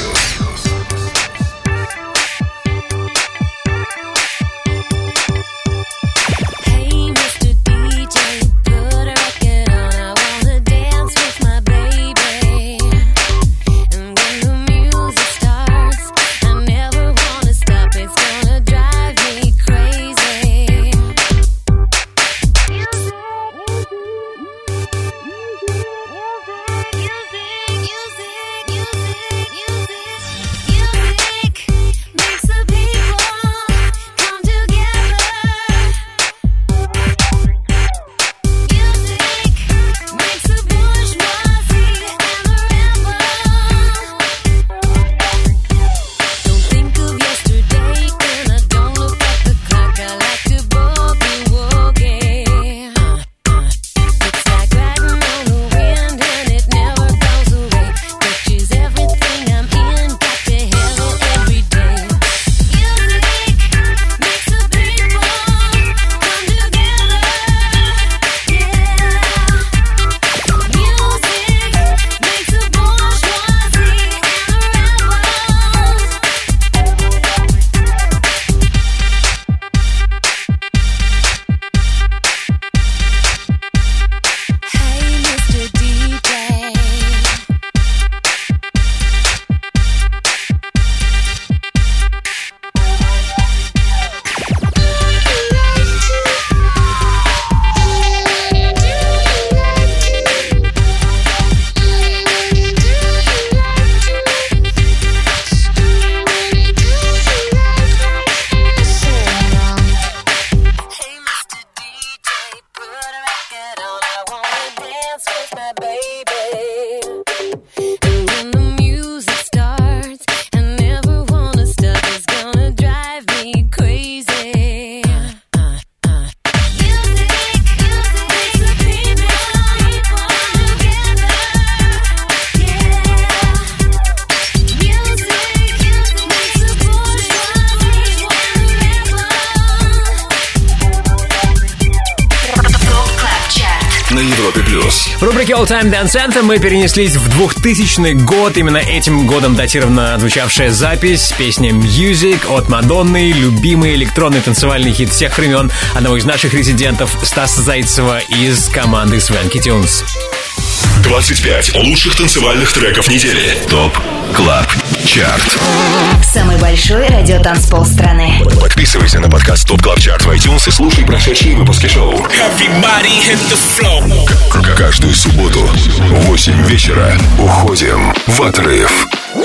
В рубрике All Time Dance Anthem мы перенеслись в 2000 год. Именно этим годом датирована отзвучавшая запись. Песня Music от Мадонны, любимый электронный танцевальный хит всех времен одного из наших резидентов Стаса Зайцева из команды Swanky Tunes. 25 лучших танцевальных треков недели. ТОП КЛАБ ЧАРТ. Самый большой радиотанцпол страны. Подписывайся на подкаст ТОП КЛАБ ЧАРТ в iTunes и слушай прошедшие выпуски шоу. Каждую субботу в 8 вечера уходим в отрыв.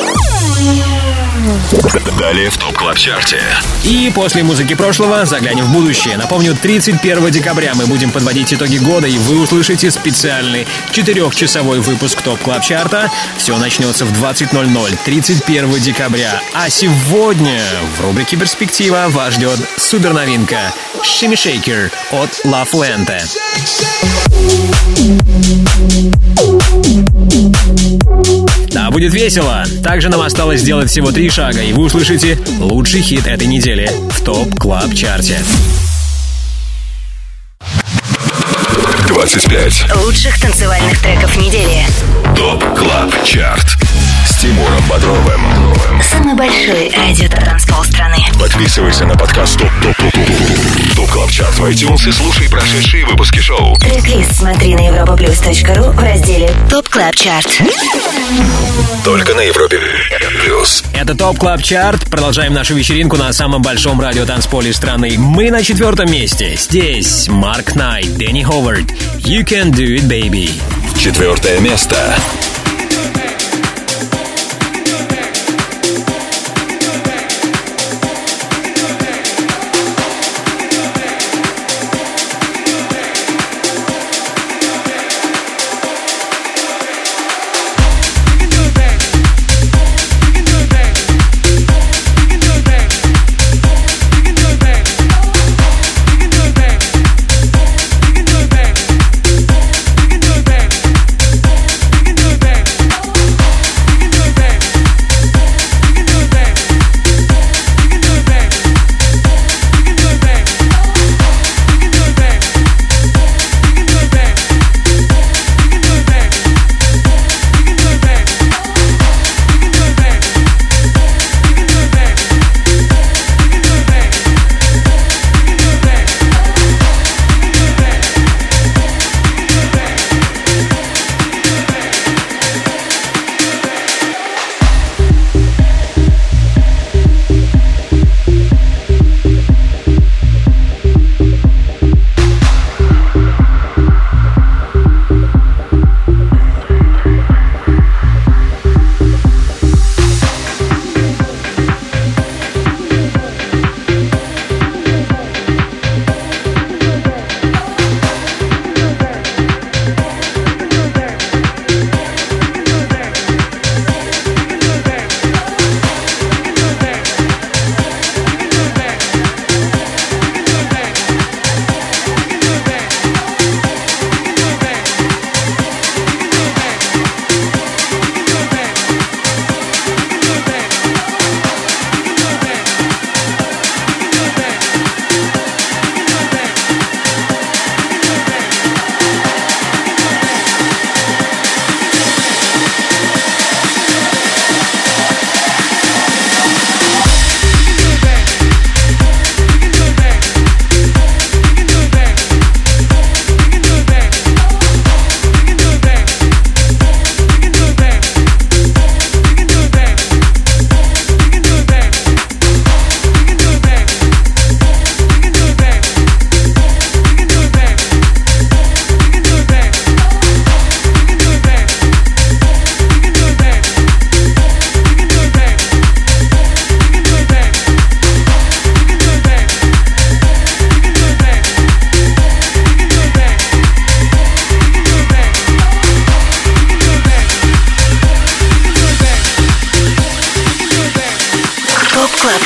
Далее в ТОП КЛАБ ЧАРТе. И после музыки прошлого заглянем в будущее. Напомню, 31 декабря мы будем подводить итоги года, и вы услышите специальный 4-часовой выпуск ТОП КЛАБ ЧАРТа. Все начнется в 20:00 31 декабря. А сегодня в рубрике «Перспектива» вас ждет суперновинка «Shimmy Shaker» от La Fuente. Да, будет весело. Также нам осталось сделать всего 3 шага, и вы услышите лучший хит этой недели в ТОП КЛАБ ЧАРТе. 25 лучших танцевальных треков недели. ТОП КЛАБ ЧАРТ с Тимуром Бодровым. Самый большой радиотанцпол страны. Подписывайся на подкаст ТОП КЛАБ ЧАРТ в iTunes и слушай прошедшие выпуски шоу. Трек-лист смотри на europaplus.ru в разделе ТОП КЛАБ ЧАРТ. Только на Европе плюс. Это ТОП КЛАБ ЧАРТ. Продолжаем нашу вечеринку на самом большом радиотанцполе страны. Мы на 4-м месте. Здесь Марк Найт, Дэнни Ховард. You can do it, baby. 4-е место. Baby.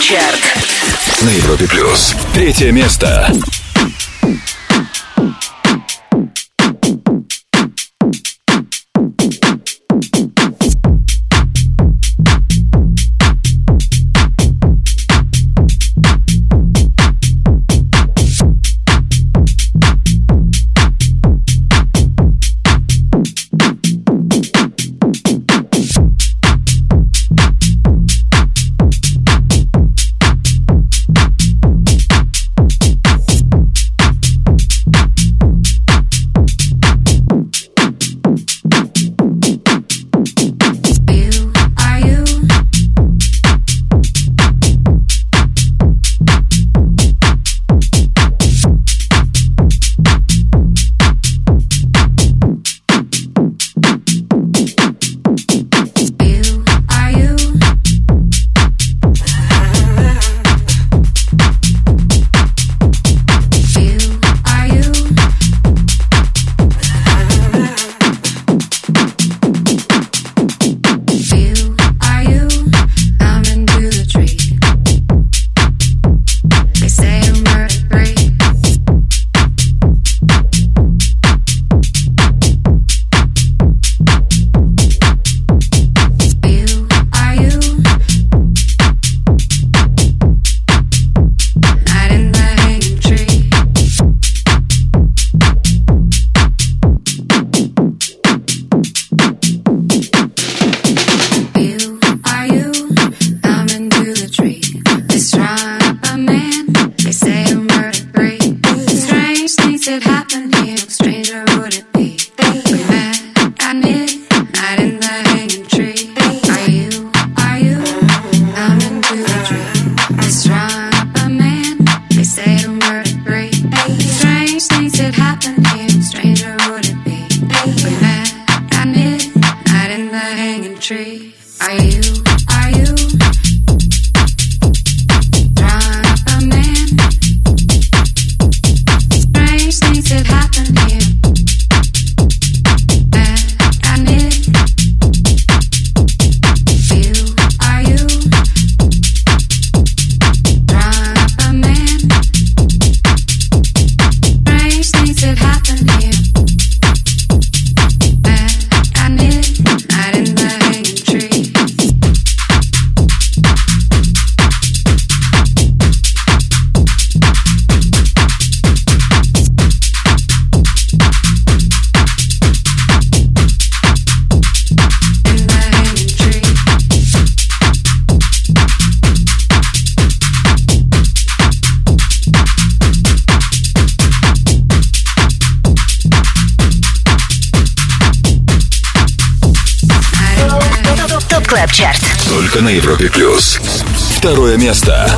Чарт. На Европе Плюс. 3 место. Клаб Чарт. Только на Европе Плюс. 2 место.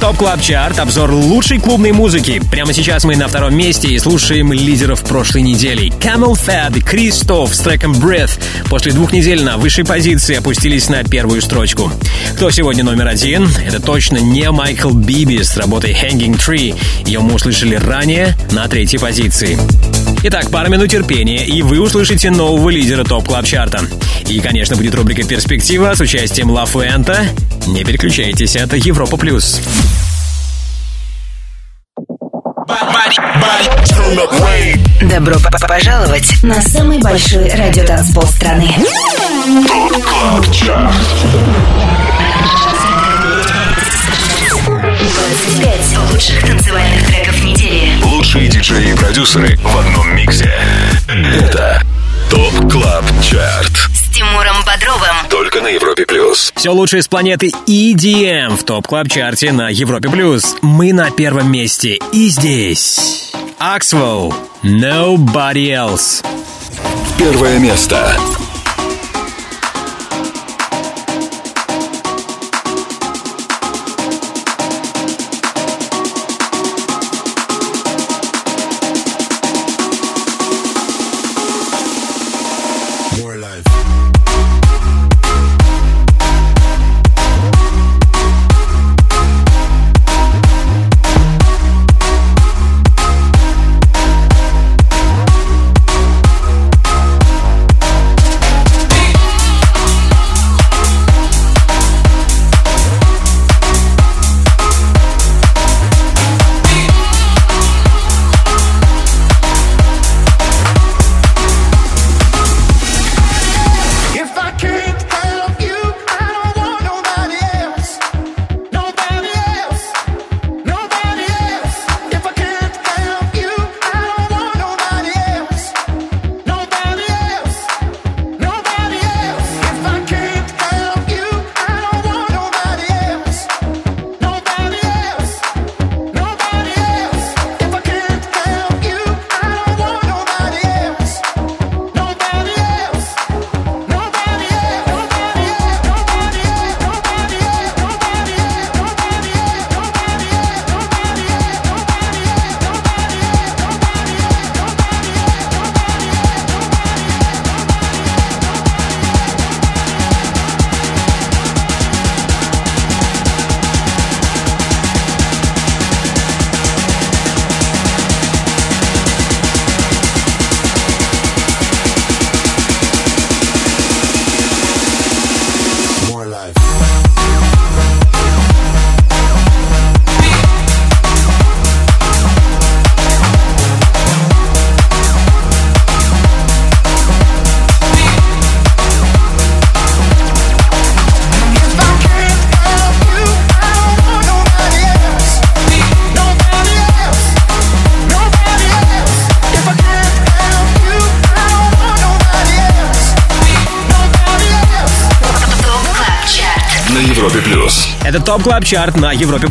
ТОП Клаб Чарт, обзор лучшей клубной музыки. Прямо сейчас мы на втором месте и слушаем лидеров прошлой недели. Camel Fat и Кристоф с треком Breath после 2 недель на высшей позиции опустились на первую строчку. Кто сегодня номер 1? Это точно не Майкл Биби с работой Hanging Tree. Ее мы услышали ранее на 3-й позиции. Итак, пара минут терпения, и вы услышите нового лидера ТОП Клаб Чарта. И, конечно, будет рубрика «Перспектива» с участием Ла Фуэнте. Не переключайтесь, это Европа+. Добро пожаловать на самый большой радиотанцпол страны. ТОП Клаб Чарт. 25 лучших танцевальных треков недели. Лучшие диджеи и продюсеры в одном миксе. Это ТОП Клаб Чарт. С Тимуром Бодровым. Только на Европе+. Все лучшее с планеты EDM в ТОП Клаб Чарте на Европе+. Мы на первом месте. И здесь Axwell, Nobody Else. Первое место. Это ТОП Клаб Чарт на Европе+.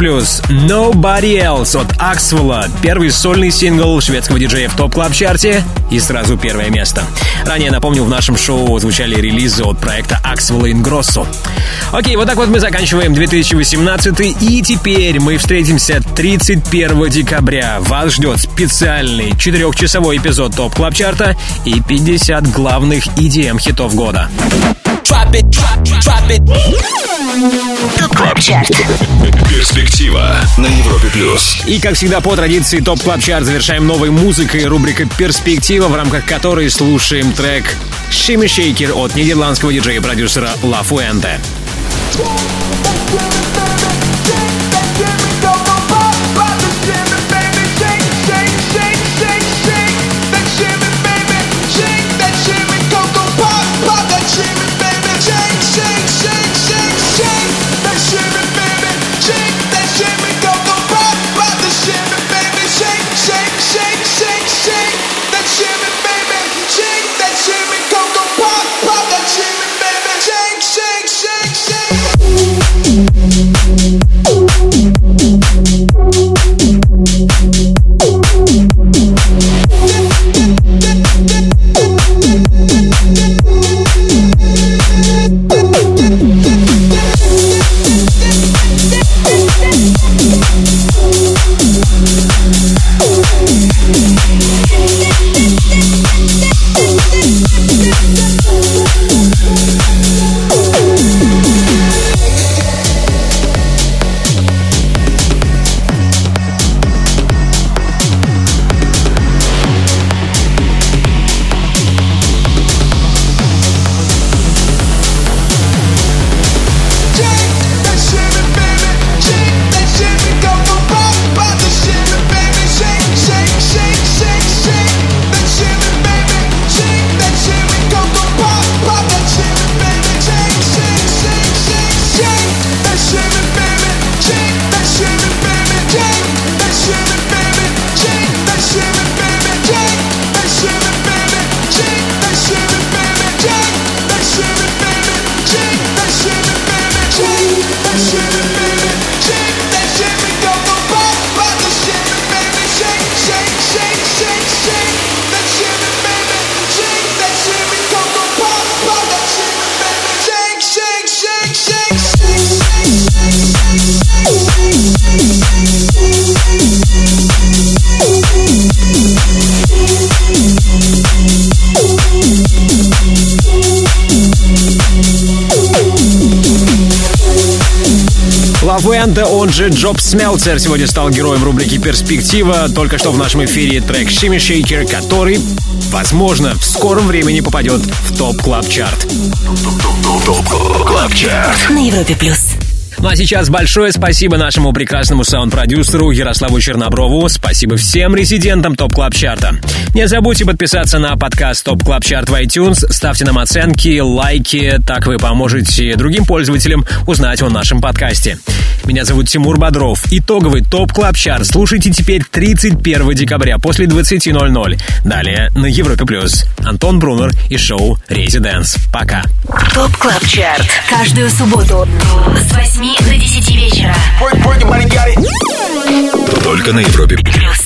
Nobody Else от Axwell. Первый сольный сингл шведского диджея в ТОП Клаб Чарте и сразу первое место. Ранее, напомню, в нашем шоу звучали релизы от проекта Axwell Ingrosso. Окей, вот так вот мы заканчиваем 2018, и теперь мы встретимся 31 декабря. Вас ждет специальный 4-часовой эпизод ТОП Клаб Чарта и 50 главных EDM-хитов года. ТОП Клаб Чарт. Перспектива на Европе+. И, как всегда, по традиции ТОП Клаб Чарт завершаем новой музыкой, рубрика «Перспектива», в рамках которой слушаем трек «Shimmy Shaker» от нидерландского диджея и продюсера Ла Фуэнте. Shake, shake, shake, shake. Венте, он же Джоб Смелцер, сегодня стал героем рубрики «Перспектива». Только что в нашем эфире трек «Shimmy Shaker», который, возможно, в скором времени попадет в ТОП Клаб Чарт. ТОП Клаб Чарт на Европе плюс. Ну а сейчас большое спасибо нашему прекрасному саунд-продюсеру Ярославу Черноброву. Спасибо всем резидентам ТОП Клаб Чарта. Не забудьте подписаться на подкаст ТОП Клаб Чарт в iTunes. Ставьте нам оценки, лайки. Так вы поможете другим пользователям узнать о нашем подкасте. Меня зовут Тимур Бодров. Итоговый ТОП Клаб Чарт слушайте теперь 31 декабря после 20:00. Далее на Европе плюс. Антон Брунер и шоу «Резиденс». Пока. ТОП Клаб Чарт. Каждую субботу с 8 до 10 вечера. Только на Европе плюс.